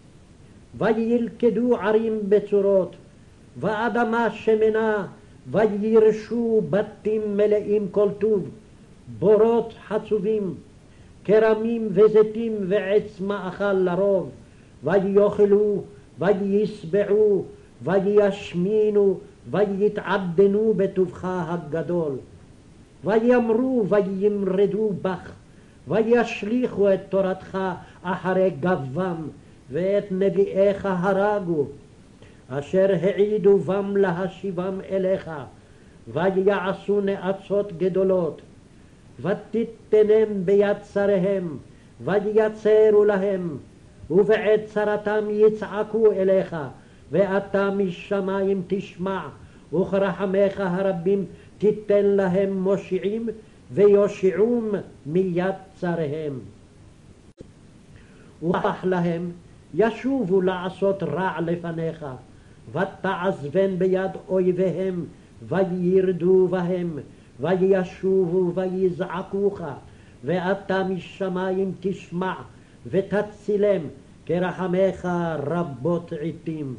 וילכדו ערים בצורות, ואדמה שמנה, וירשו בתים מלאים כל טוב, בורות חצובים, כרמים וזיתים ועץ מאכל לרוב. ויאכלו, וישבעו, וישמינו, ויתעדנו בטובך הגדול. ויאמרו וימרדו בך, וישליכו את תורתך אחרי גבם, ואת נביאיך הרגו, אשר העידו בם להשיבם אליך, ויעשו נאצות גדולות, ותיתנם ביד צריהם, ויצרו להם, ובעת צרתם יצעקו אליך, ואתה משמיים תשמע, וכרחמך הרבים תיתן להם מושיעים, ויושיעום מיד צריהם. ובח להם, ישובו לעשות רע לפניך, ותעזבן ביד אויביהם, וירדו בהם, וישובו ויזעקוך, ואתה משמיים תשמע, ותצילם, כרחמך רבות עתים.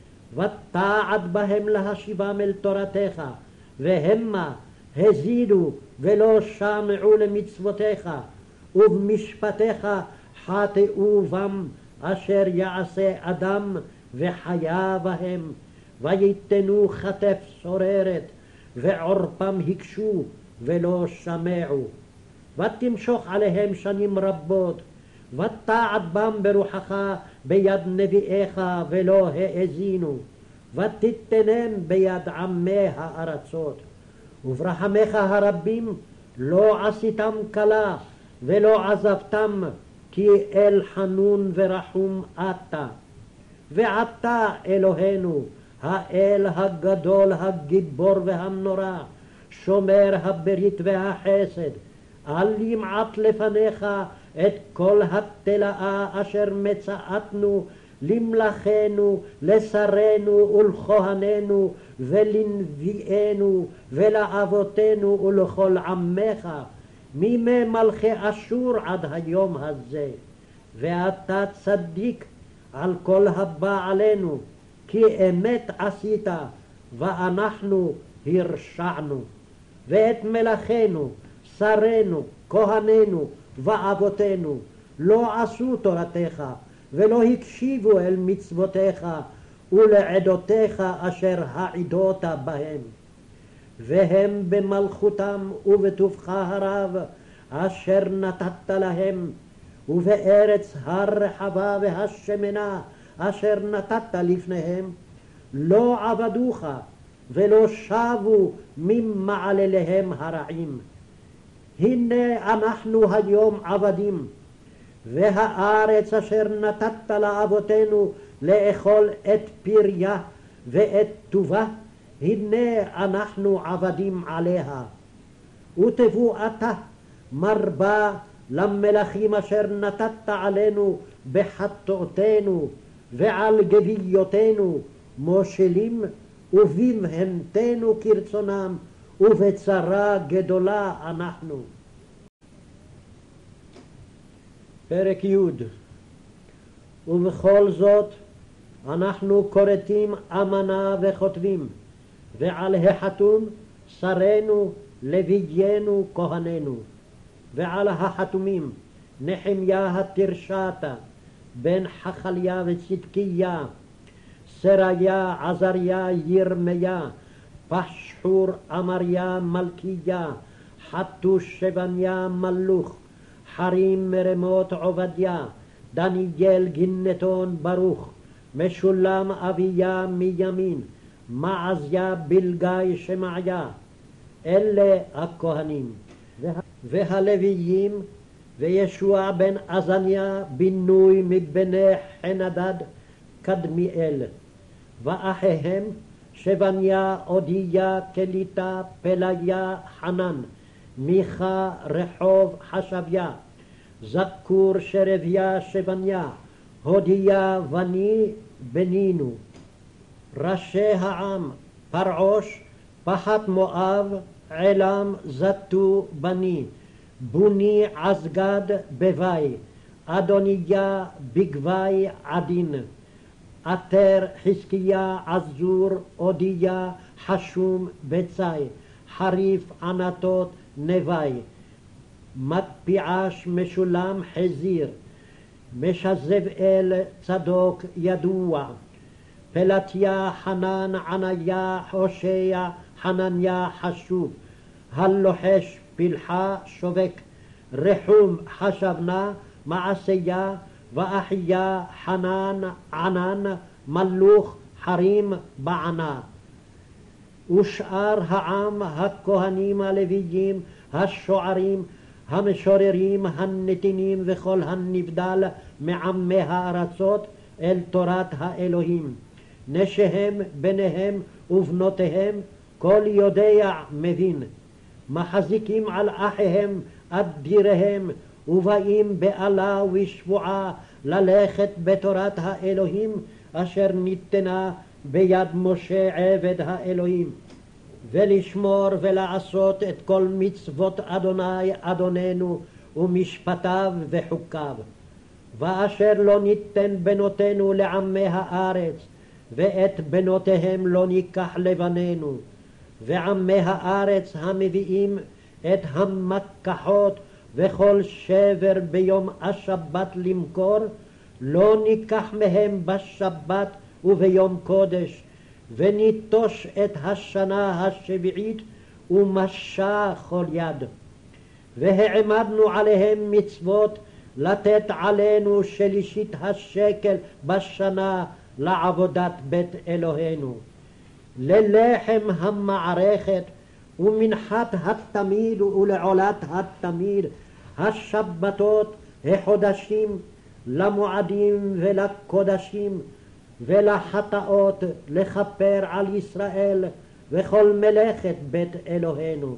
ותעד בהם להשיבם אל תורתך, והמה הזידו ולא שמעו למצוותיך, ובמשפטיך חטאו בם, אשר יעשה אדם וחיה בהם, ויתנו כתף סוררת, ועורפם הקשו ולא שמעו. ותמשוך עליהם שנים רבות, ותעד בם ברוחך ביד נביאיך ולא האזינו, ותיתנם ביד עמי הארצות. וברחמך הרבים לא עשיתם כלה ולא עזבתם, כי אל חנון ורחום אתה. ועתה אלוהינו, האל הגדול הגיבור והמנורה, שומר הברית והחסד, אל ימעט לפניך את כל התלאה אשר מצאתנו למלכנו, לשרנו ולכהננו ולנביאנו ולאבותינו ולכל עמך, מימי מלכי אשור עד היום הזה. ואתה צדיק על כל הבא עלינו, כי אמת עשית ואנחנו הרשענו. ואת מלכנו, שרנו, כהננו ואבותינו לא עשו תורתך, ולא הקשיבו אל מצוותיך ולעדותיך אשר העידות בהם. והם במלכותם ובטובך הרב אשר נתת להם, ובארץ הרחבה והשמנה אשר נתת לפניהם, לא עבדוך ולא שבו ממעלליהם הרעים. הנה אנחנו היום עבדים, והארץ אשר נתת לאבותינו לאכול את פריה ואת טובה, הנה אנחנו עבדים עליה. ותבוא אתה מרבה למלכים אשר נתת עלינו בחטאותינו ועל גוויותינו מושלים, ובמהמתנו כרצונם, ובצרה גדולה אנחנו. פרק י'. ובכל זאת אנחנו כורתים אמנה וכותבים, ועל החתום שרנו לוויינו כהננו, ועל החתומים נחמיה התרשתה בן חכליה וצדקיה, סריה עזריה ירמיה, פשחור אמריה מלכיה, חתוש שבניה מלוך, חרים מרמות עובדיה, דניאל גינתון ברוך, משולם אביה מימין, מעזיה בלגי שמעיה. אלה הכהנים. והלוויים, וישוע בן עזניה בינוי מבני חנדד קדמיאל, ואחיהם שבניה, אודיה, קליטה, פליה, חנן, מיכה, רחוב, חשביה, זכור, שרביה, שבניה, הודיה, בני, בנינו. ראשי העם, פרעוש, פחת מואב, עלם, זתו, בני, בוני, עזגד, בוואי, אדוניה, בגוואי, עדין, עטר, חזקיה, עזור, אודיה, חשום, בצי, חריף, ענתות, נווי, מקפיעש, משולם, חזיר, משזבאל, צדוק, ידוע, פלטיה, חנן, עניה, הושע, חנניה, חשוב, הלוחש, פלחה, שובק, רחום, חשבנה, מעשיה, ואחיה, חנן, ענן, מלוך, חרים, בענה. ושאר העם, הכהנים הלוויים, השוערים, המשוררים, הנתינים וכל הנבדל מעמי הארצות אל תורת האלוהים. נשיהם, בניהם ובנותיהם, כל יודע מבין. מחזיקים על אחיהם אדיריהם, ובאים באלה ושבועה ללכת בתורת האלוהים אשר ניתנה ביד משה עבד האלוהים, ולשמור ולעשות את כל מצוות אדוני אדוננו ומשפטיו וחוקיו. ואשר לא ניתן בנותינו לעמי הארץ, ואת בנותיהם לא ניקח לבנינו, ועמי הארץ המביאים את המקחות וכל שבר ביום השבת למכור, לא ניקח מהם בשבת וביום קודש, וניטוש את השנה השביעית ומשה כל יד. והעמדנו עליהם מצוות לתת עלינו שלישית השקל בשנה לעבודת בית אלוהינו, ללחם המערכת ומנחת התמיד ולעולת התמיד, השבתות, החודשים, למועדים ולקודשים ולחטאות, לכפר על ישראל וכל מלאכת בית אלוהינו.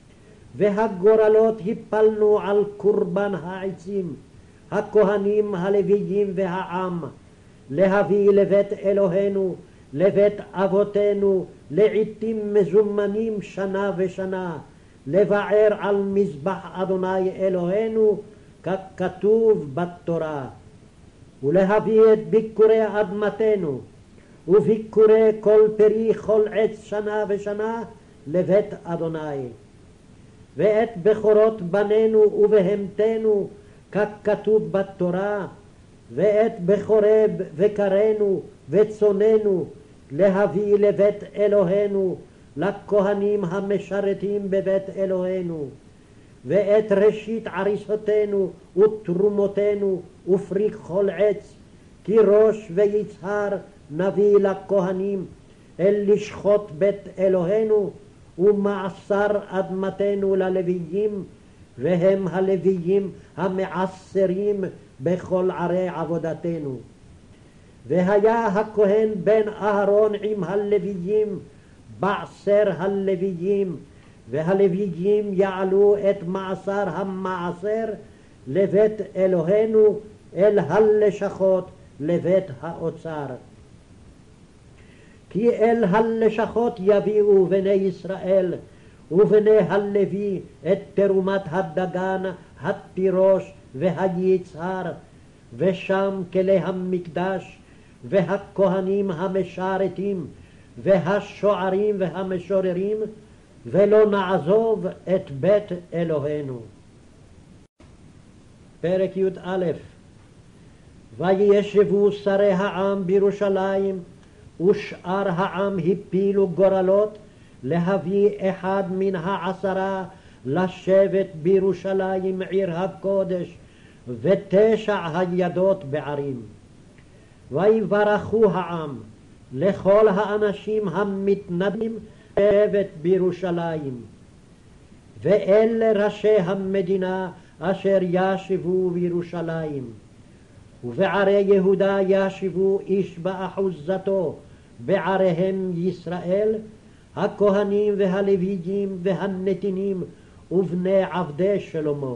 והגורלות הפלנו על קורבן העצים, הכהנים הלוויים והעם, להביא לבית אלוהינו, לבית אבותינו, לעתים מזומנים שנה ושנה, לבער על מזבח אדוני אלוהינו, ככתוב בתורה, ולהביא את ביקורי אדמתנו, וביקורי כל פרי כל עץ שנה ושנה לבית אדוני, ואת בכורות בנינו ובהמתנו, ככתוב בתורה, ואת בכורי בקרנו וצוננו, להביא לבית אלוהינו, לכהנים המשרתים בבית אלוהינו, ואת ראשית עריסותינו ותרומותינו ופרי כל עץ, כי ראש ויצהר נביא לכהנים אל לשחוט בית אלוהינו, ומעשר אדמתנו ללוויים, והם הלוויים המעשרים בכל ערי עבודתנו. והיה הכהן בן אהרון עם הלוויים בעשר הלוויים, והלוויים יעלו את מעשר המעשר לבית אלוהינו אל הלשכות לבית האוצר. כי אל הלשכות יביאו בני ישראל ובני הלוי את תרומת הדגן, התירוש והיצהר, ושם כלי המקדש והכהנים המשרתים והשוערים והמשוררים, ולא נעזוב את בית אלוהינו. פרק י"א. וישבו שרי העם בירושלים, ושאר העם הפילו גורלות להביא אחד מן העשרה לשבת בירושלים עיר הקודש, ותשע הידות בערים. ויברכו העם לכל האנשים המתנדבים לשבת בירושלים, ואלה ראשי המדינה אשר ישבו בירושלים. ובערי יהודה ישבו איש באחוזתו בעריהם ישראל, הכהנים והלוויים והנתינים ובני עבדי שלמה.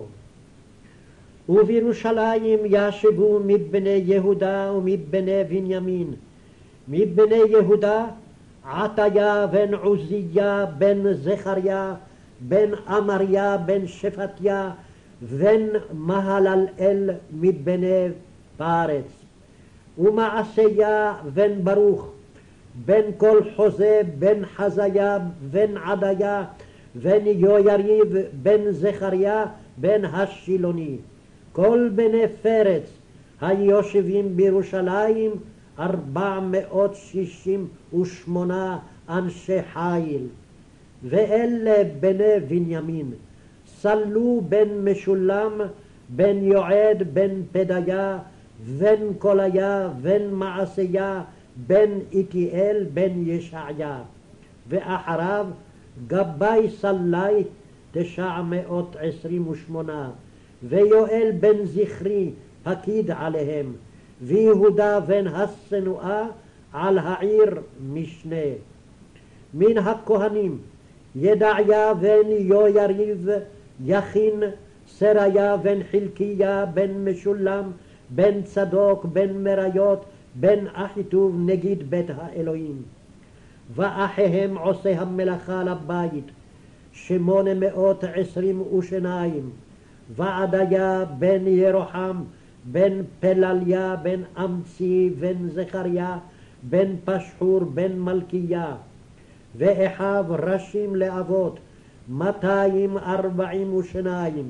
ובירושלים ישבו מבני יהודה ומבני בנימין. מבני יהודה עטיה בן עוזיה בן זכריה בן אמריה בן שפטיה בן מהללאל מבני פרץ. ומעשיה בן ברוך בן כל חוזה בן חזיה בן עדיה בן יויריב בן זכריה בן השילוני. כל בני פרץ היושבים בירושלים ארבע מאות שישים ושמונה אנשי חיל. ואלה בני בנימין, סלו בן משולם בן יועד בן פדיה בן קוליה בן מעשיה בן איתיאל בן ישעיה. ואחריו גבאי סלי תשע מאות עשרים ושמונה, ויואל בן זכרי פקיד עליהם, ויהודה בן השנואה על העיר משנה. מן הכהנים ידעיה בן יויריב יכין, סריה בן חלקיה בן משולם בן צדוק בן מריות בן אחיטוב נגיד בית האלוהים. ואחיהם עושי המלאכה לבית שמונה מאות עשרים ושניים, ועדיה בן ירוחם בן פלליה בן אמצי בן זכריה בן פשחור בן מלכיה. ואחיו ראשים לאבות מאתיים ארבעים ושניים.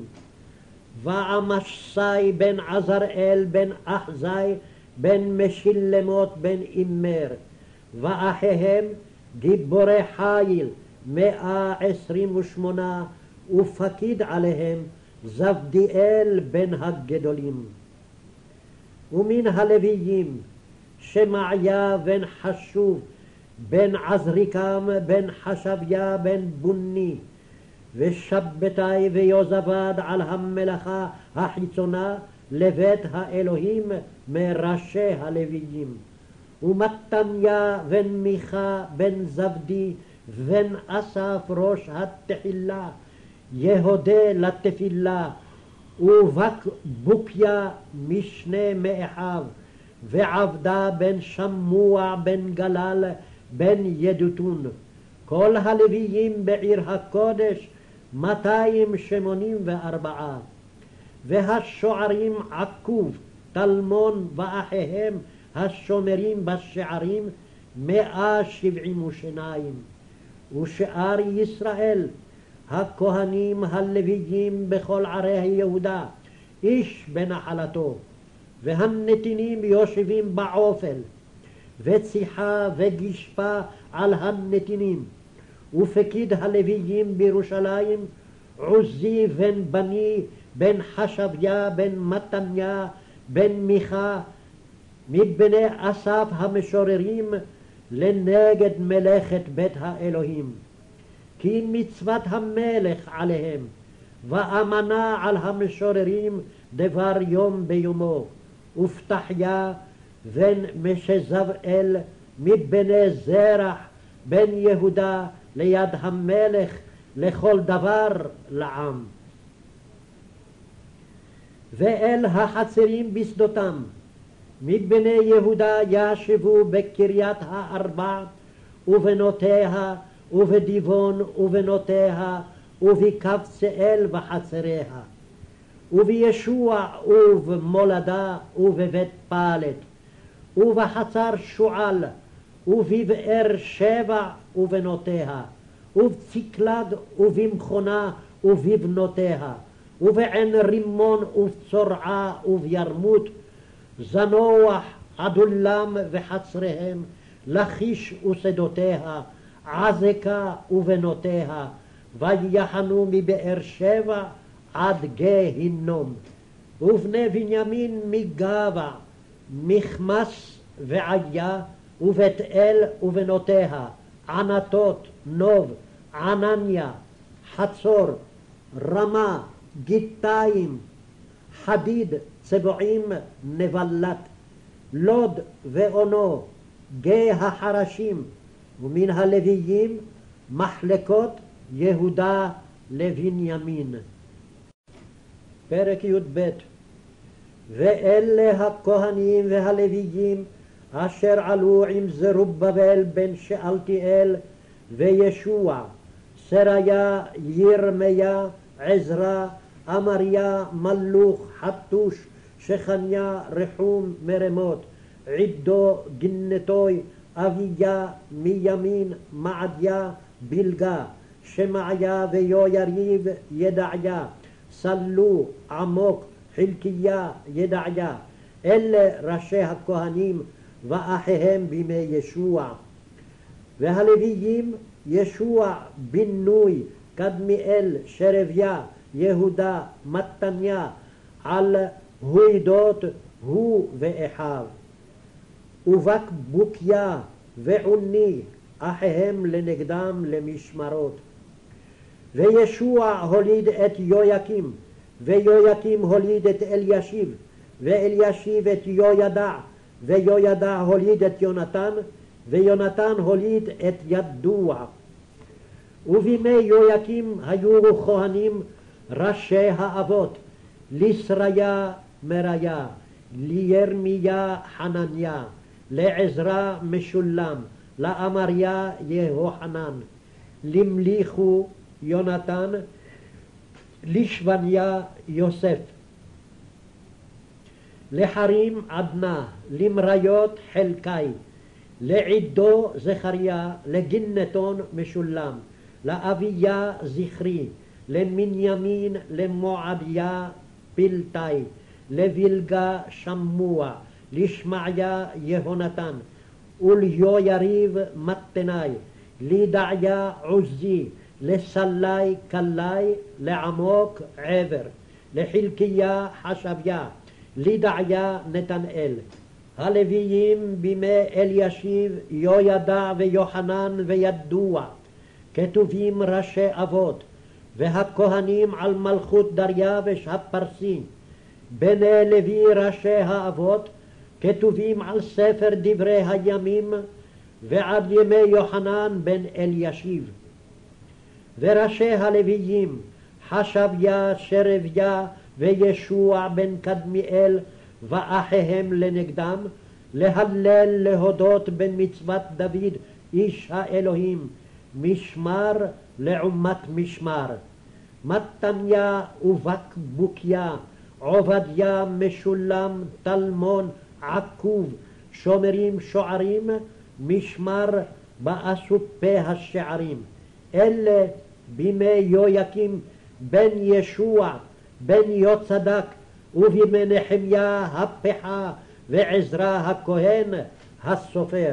ועמשי בן עזראל בן אחזי בן משילמות בן אימר. ואחיהם גיבורי חיל מאה עשרים ושמונה, ופקיד עליהם זבדיאל בן הגדולים. ומן הלוויים שמעיה בן חשוב בן עזריקם בן חשביה בן בוני, ושבתאי ויוזבד על המלאכה החיצונה לבית האלוהים מראשי הלוויים. ומתניה בן מיכה בן זבדי בן אסף ראש התחילה, יהודה לתפילה, ובקבוקיה משנה מאחיו, ועבדה בן שמוע בן גלל בן ידותון. כל הלוויים בעיר הקודש מאתיים שמונים וארבעה. והשוערים עקוב, תלמון ואחיהם השומרים בשערים מאה שבעים ושניים. ושאר ישראל הכהנים הלוויים בכל ערי יהודה איש בנחלתו, והנתינים יושבים בעופל, וציחה וגישפה על הנתינים. ופקיד הלוויים בירושלים עוזי בן בני בן חשביה בן מתניה בן מיכה מבני אסף המשוררים לנגד מלאכת בית האלוהים. כי מצוות המלך עליהם, ואמנה על המשוררים דבר יום ביומו. ופתחיה בן משזבאל מבני זרח בן יהודה ליד המלך לכל דבר לעם. ואל החצרים בשדותם מבני יהודה ישבו בקריית הארבע ובנותיה ובדיבון ובנותיה ובקבצאל וחצריה, ובישוע ובמולדה ובבית פלט ובחצר שועל ובבאר שבע ובנותיה ובצקלג ובמכונה ובבנותיה ובעין רימון ובצורעה ובירמות, זנוח עדולם וחצריהם, לכיש ושדותיה, עזקה ובנותיה, ויחנו מבאר שבע עד גהינום. ובני בנימין מגבע, מכמס ועיה, ובית אל ובנותיה, ענתות, נוב, ענניה, חצור, רמה, גיתיים, חדיד, צבועים, נבלת, לוד ואונו, גיא החרשים, ומן הלוויים מחלקות יהודה לבנימין. פרק י"ב. ואלה הכהנים והלוויים אשר עלו עם זרובבל בן שאלתיאל וישוע, סריה, ירמיה, עזרא, אמריה, מלוך, חתוש, שכניה, רחום, מרמות, עידו, גנתוי, אביה, מימין, מעדיה, בלגה, שמעיה ויויריב, ידעיה, סלו, עמוק, חלקיה, ידעיה. אלה ראשי הכהנים ואחיהם בימי ישוע. והלוויים ישוע, בנוי, קדמיאל, שרביה, יהודה, מתניה, על הוידות הוא ואחיו. ובקבוקיה ועוני, אחיהם לנגדם למשמרות. וישוע הוליד את יויקים, ויויקים הוליד את אלישיב, ואלישיב את יהוידע, ויהוידע הוליד את יונתן, ויונתן הוליד את ידוע. ובימי יויקים היו כהנים ראשי האבות, לישריה מריה, לירמיה חנניה, לעזרא משולם, לאמריה יהוחנן, למליכו יונתן, לשבניה יוסף, לחרים עדנה, למריות חלקי, לעידו זכריה, לגנתון משולם, לאביה זכרי, למנימין למועדיה פלטי, לבלגה שמוע, לשמעיה יהונתן, וליהויריב מתני, לידעיה עוזי, לסלי קלי, לעמוק עבר, לחלקיה חשביה, לידעיה נתנאל. הלוויים בימי אלישיב, יהוידע ויוחנן וידוע, כתובים ראשי אבות, והכהנים על מלכות דריווש הפרסי, בני לוי ראשי האבות, כתובים על ספר דברי הימים, ועד ימי יוחנן בן אלישיב. וראשי הלוויים, חשביה, שרביה וישוע בן קדמיאל, ואחיהם לנגדם, להלל להודות במצוות דוד איש האלוהים, משמר לעומת משמר. מתניה ובקבוקיה, עובדיה משולם, תלמון עקוב, שומרים שוערים, משמר באסופי השערים. אלה בימי יויקים בן ישוע בן יוצדק, ובימי נחמיה הפחה ועזרא הכהן הסופר.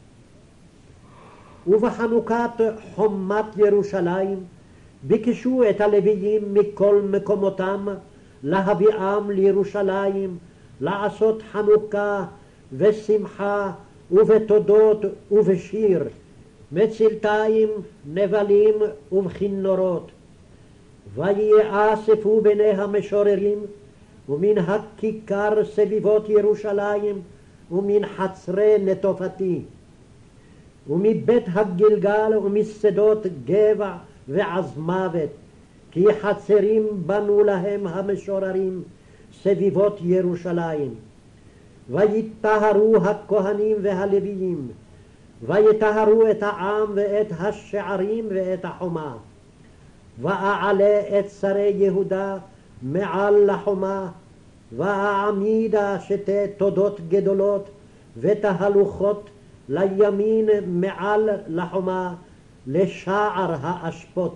ובחנוכת חומת ירושלים ביקשו את הלוויים מכל מקומותם להביאם לירושלים, לעשות חנוכה ושמחה ובתודות ובשיר, מצלתיים, נבלים ובכינורות. ויאספו בני המשוררים ומן הכיכר סביבות ירושלים ומן חצרי נטופתי ומבית הגלגל ומשדות גבע ועזמוות, כי חצרים בנו להם המשוררים סביבות ירושלים. ויטהרו הכהנים והלוויים, ויטהרו את העם ואת השערים ואת החומה. ואעלה את שרי יהודה מעל לחומה, ואעמידה שתי תודות גדולות ותהלוכות לימין מעל לחומה, לשער האשפות.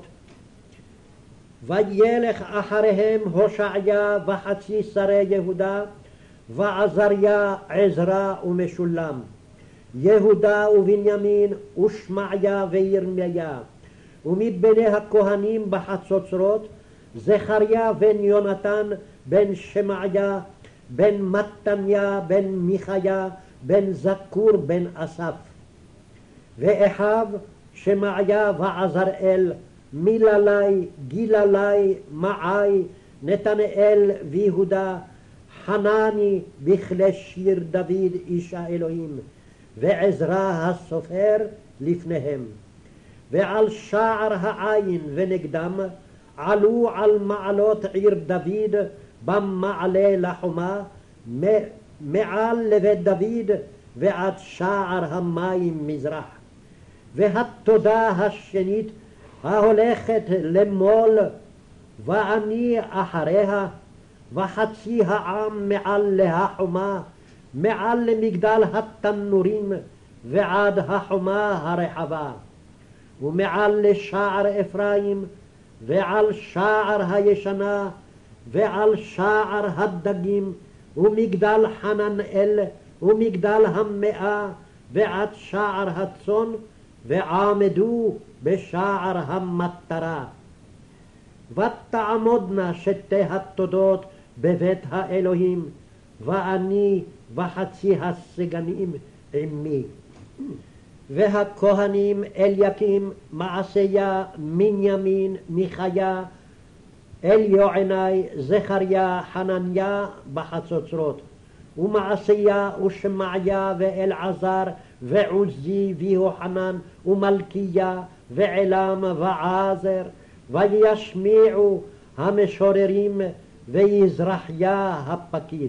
וילך אחריהם הושעיה וחצי שרי יהודה, ועזריה, עזרא ומשולם, יהודה ובנימין ושמעיה וירמיה. ומבני הכהנים בחצוצרות, זכריה בן יונתן בן שמעיה בן מתניה בן מיכיה בן זכור בן אסף. ואחיו שמעיה ועזראל, מיללי, גיללי, מעי, נתנאל ויהודה, חנני בכלי שיר דוד איש האלוהים, ועזרא הסופר לפניהם. ועל שער העין ונגדם עלו על מעלות עיר דוד במעלה לחומה, מעל לבית דוד ועד שער המים מזרח. והתודה השנית ההולכת למול, ואני אחריה, וחצי העם מעל להחומה, מעל למגדל התנורים ועד החומה הרחבה, ומעל לשער אפרים, ועל שער הישנה, ועל שער הדגים, ומגדל חננאל, ומגדל המאה, ועד שער הצאן, ועמדו בשער המטרה. ותעמודנה שתי התודות בבית האלוהים, ואני וחצי הסגנים עמי. והכהנים אליקים, מעשיה, בנימין, מיכיה, אליוענai, זכריה, חנניה בחצוצרות, ומעשיה ושמעיה ואלעזר ועוזי ויוחנן ומלכיה ועלם ועזר, וישמיעו המשוררים ויזרחיה הפקיד.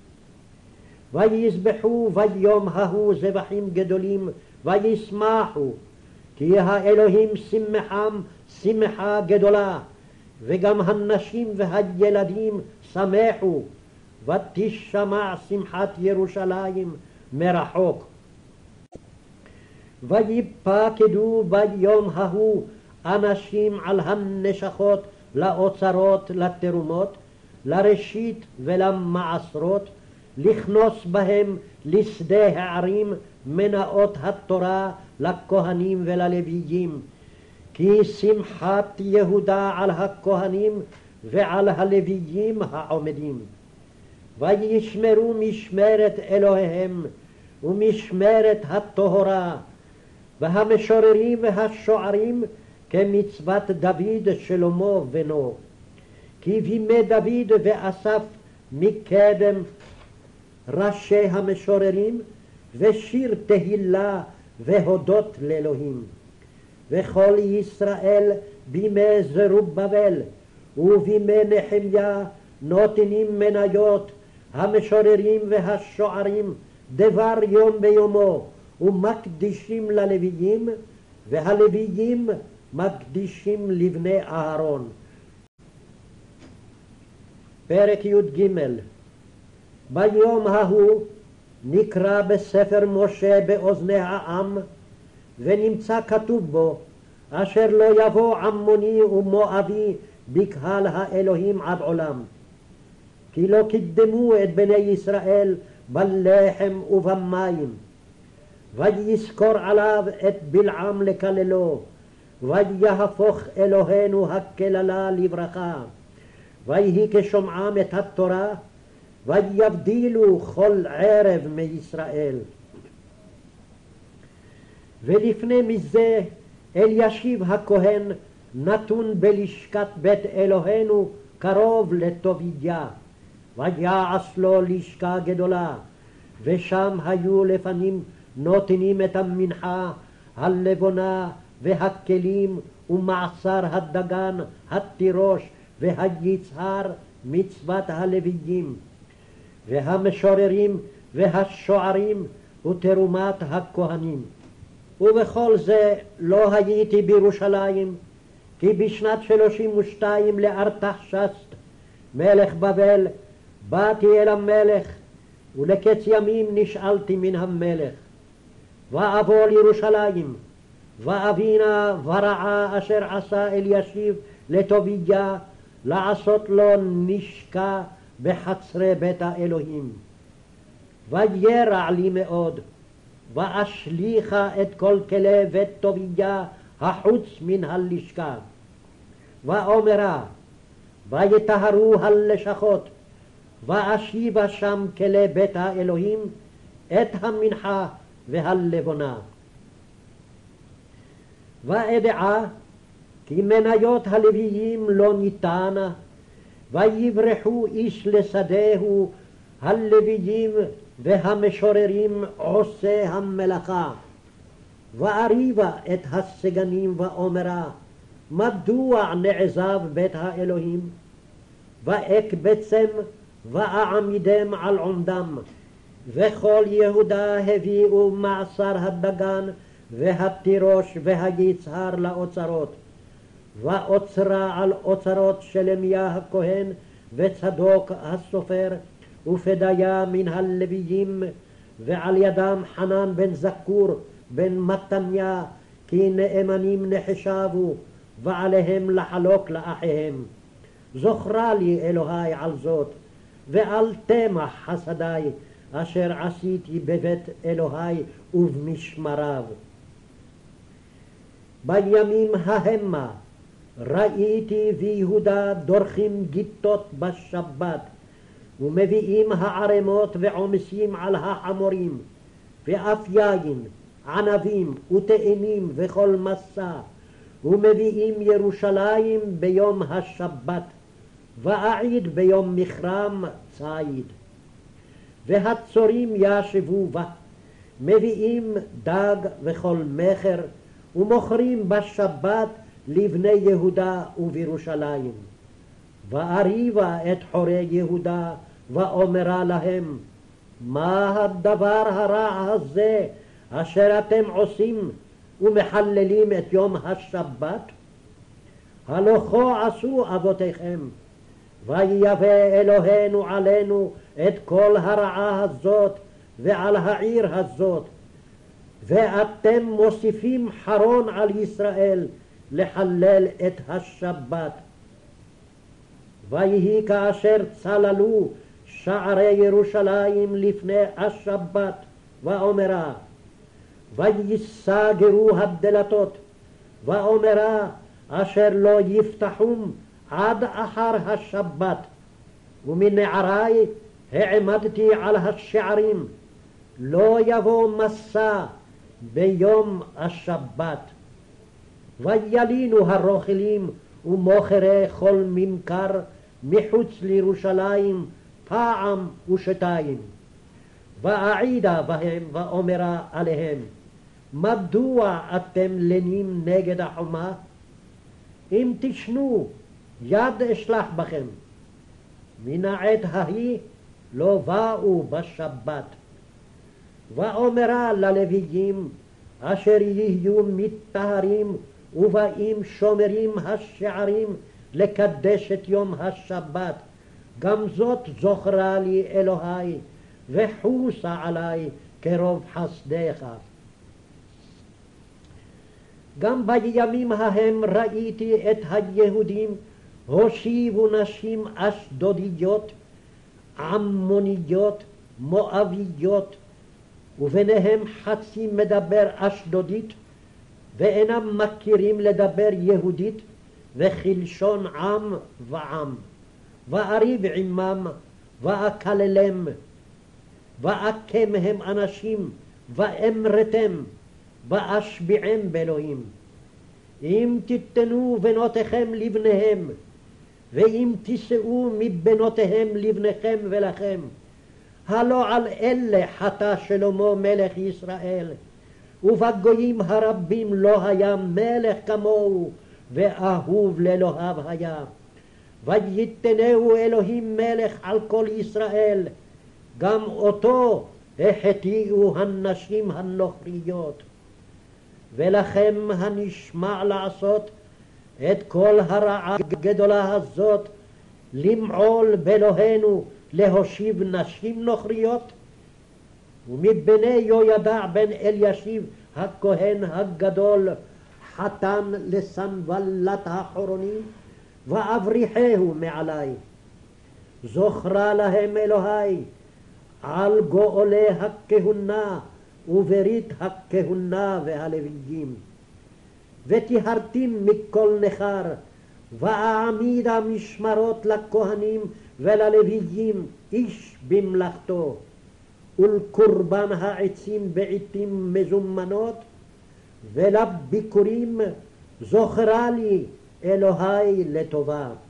ויזבחו ביום ההוא זבחים גדולים וישמחו, כי האלוהים שמחם שמחה גדולה, וגם הנשים והילדים שמחו, ותשמע שמחת ירושלים מרחוק. ויפקדו ביום ההוא אנשים על הנשכות לאוצרות לתרומות, לראשית ולמעשרות, לכנוס בהם לשדה הערים מנאות התורה לכהנים וללוויים, כי שמחת יהודה על הכהנים ועל הלוויים העומדים. וישמרו משמרת אלוהיהם ומשמרת הטהרה, והמשוררים והשוערים כמצוות דוד שלמה בנו, כי בימי דוד ואסף מקדם ראשי המשוררים, ושיר תהילה והודות לאלוהים. וכל ישראל בימי זרובבל ובימי נחמיה נותנים מניות המשוררים והשוערים דבר יום ביומו, ומקדישים ללוויים, והלוויים מקדישים לבני אהרון. פרק י"ג. ביום ההוא נקרא בספר משה באוזני העם, ונמצא כתוב בו, אשר לא יבוא עמוני ומואבי בקהל האלוהים עד עולם. כי לא קידמו את בני ישראל בלחם ובמים. ויזכור עליו את בלעם לקללו, ויהפוך אלוהינו הקללה לברכה. ויהי כשומעם את התורה, ויבדילו כל ערב מישראל. ולפני מזה אלישיב הכהן נתון בלשכת בית אלוהינו קרוב לטוביה, ויעש לו לשכה גדולה, ושם היו לפנים נותנים את המנחה, הלבונה והכלים ומעשר הדגן, התירוש והיצהר, מצוות הלוויים, והמשוררים והשוערים ותרומת הכהנים. ובכל זה לא הייתי בירושלים, כי בשנת שלושים ושתיים לארתחשסט מלך בבל באתי אל המלך, ולקץ ימים נשאלתי מן המלך, ואבוא לירושלים, ואבינה ורעה אשר עשה אלישיב לטוביה, לעשות לו נשקה בחצרי בית האלוהים. וירע לי מאוד, ואשליכה את כל כלי בית טוביה החוץ מן הלשכה. ואומרה, ויטהרו הלשכות, ואשיבה שם כלי בית האלוהים, את המנחה והלבונה. ואדעה כי מניות הלוויים לא ניתנה, ויברחו איש לשדהו הלוויים והמשוררים עושי המלאכה. ואריבה את הסגנים ואומרה, מדוע נעזב בית האלוהים? ואקבצם ואעמידם על עומדם. וכל יהודה הביאו מעשר הדגן והתירוש והיצהר לאוצרות, ואוצרה על אוצרות שלמיה הכהן וצדוק הסופר ופדיה מן הלוויים, ועל ידם חנן בן זכור בן מתניה, כי נאמנים נחשבו, ועליהם לחלוק לאחיהם. זוכרה לי אלוהי על זאת, ועל תמח חסדי אשר עשיתי בבית אלוהי ובמשמריו. בימים ההמה ראיתי ויהודה דורכים גיטות בשבת, ומביאים הערמות ועומסים על החמורים, ואף יין ענבים ותאנים וכל מסע, ומביאים ירושלים ביום השבת, ואעיד ביום מכרם ציד. והצורים ישבו בה, מביאים דג וכל מכר, ומוכרים בשבת לבני יהודה ובירושלים. ואריבה את חורי יהודה, ואומרה להם, מה הדבר הרע הזה אשר אתם עושים ומחללים את יום השבת? הלא כה עשו אבותיכם, ויבא אלוהינו עלינו את כל הרעה הזאת ועל העיר הזאת, ואתם מוסיפים חרון על ישראל לחלל את השבת. ויהי כאשר צללו שערי ירושלים לפני השבת, ואומרה, ויסגרו הדלתות, ואומרה, אשר לא יפתחום עד אחר השבת, ומנערי העמדתי על השערים, לא יבוא מסע ביום השבת. וילינו הרוכלים ומוכרי כל ממכר מחוץ לירושלים פעם ושתיים. ואעידה בהם ואומרה עליהם, מדוע אתם לנים נגד החומה? אם תשנו, יד אשלח בכם. מן העת ההיא לא באו בשבת. ואומרה ללוויים אשר יהיו מטהרים ובאים שומרים השערים לקדש את יום השבת, גם זאת זוכרה לי אלוהי, וחוסה עלי כרוב חסדך. גם בימים ההם ראיתי את היהודים הושיבו נשים אשדודיות, עמוניות, מואביות, וביניהם חצי מדבר אשדודית, ואינם מכירים לדבר יהודית, וכלשון עם ועם. ואריב עמם, ואקללם, ואקמהם אנשים, ואמרתם, ואשביעם באלוהים. אם תיתנו בנותיכם לבניהם, ואם תישאו מבנותיהם לבניכם ולכם, הלא על אלה חטא שלמה מלך ישראל, ובגויים הרבים לא היה מלך כמוהו, ואהוב לאלוהיו היה. ויתנהו אלוהים מלך על כל ישראל, גם אותו החטיאו הנשים הנוכריות. ולכם הנשמע לעשות את כל הרעה הגדולה הזאת, למעול באלוהינו להושיב נשים נוכריות? ומבני יהוידע בן אלישיב הכהן הגדול חתן לסנבלת החורוני, ואבריחהו מעלי. זוכרה להם אלוהי על גואלי הכהונה וברית הכהונה והלוויים. וטיהרתים מכל נכר, ואעמידה משמרות לכהנים וללוויים איש במלאכתו, ולקורבן העצים בעתים מזומנות, ולביקורים זוכרה לי אלוהי לטובה.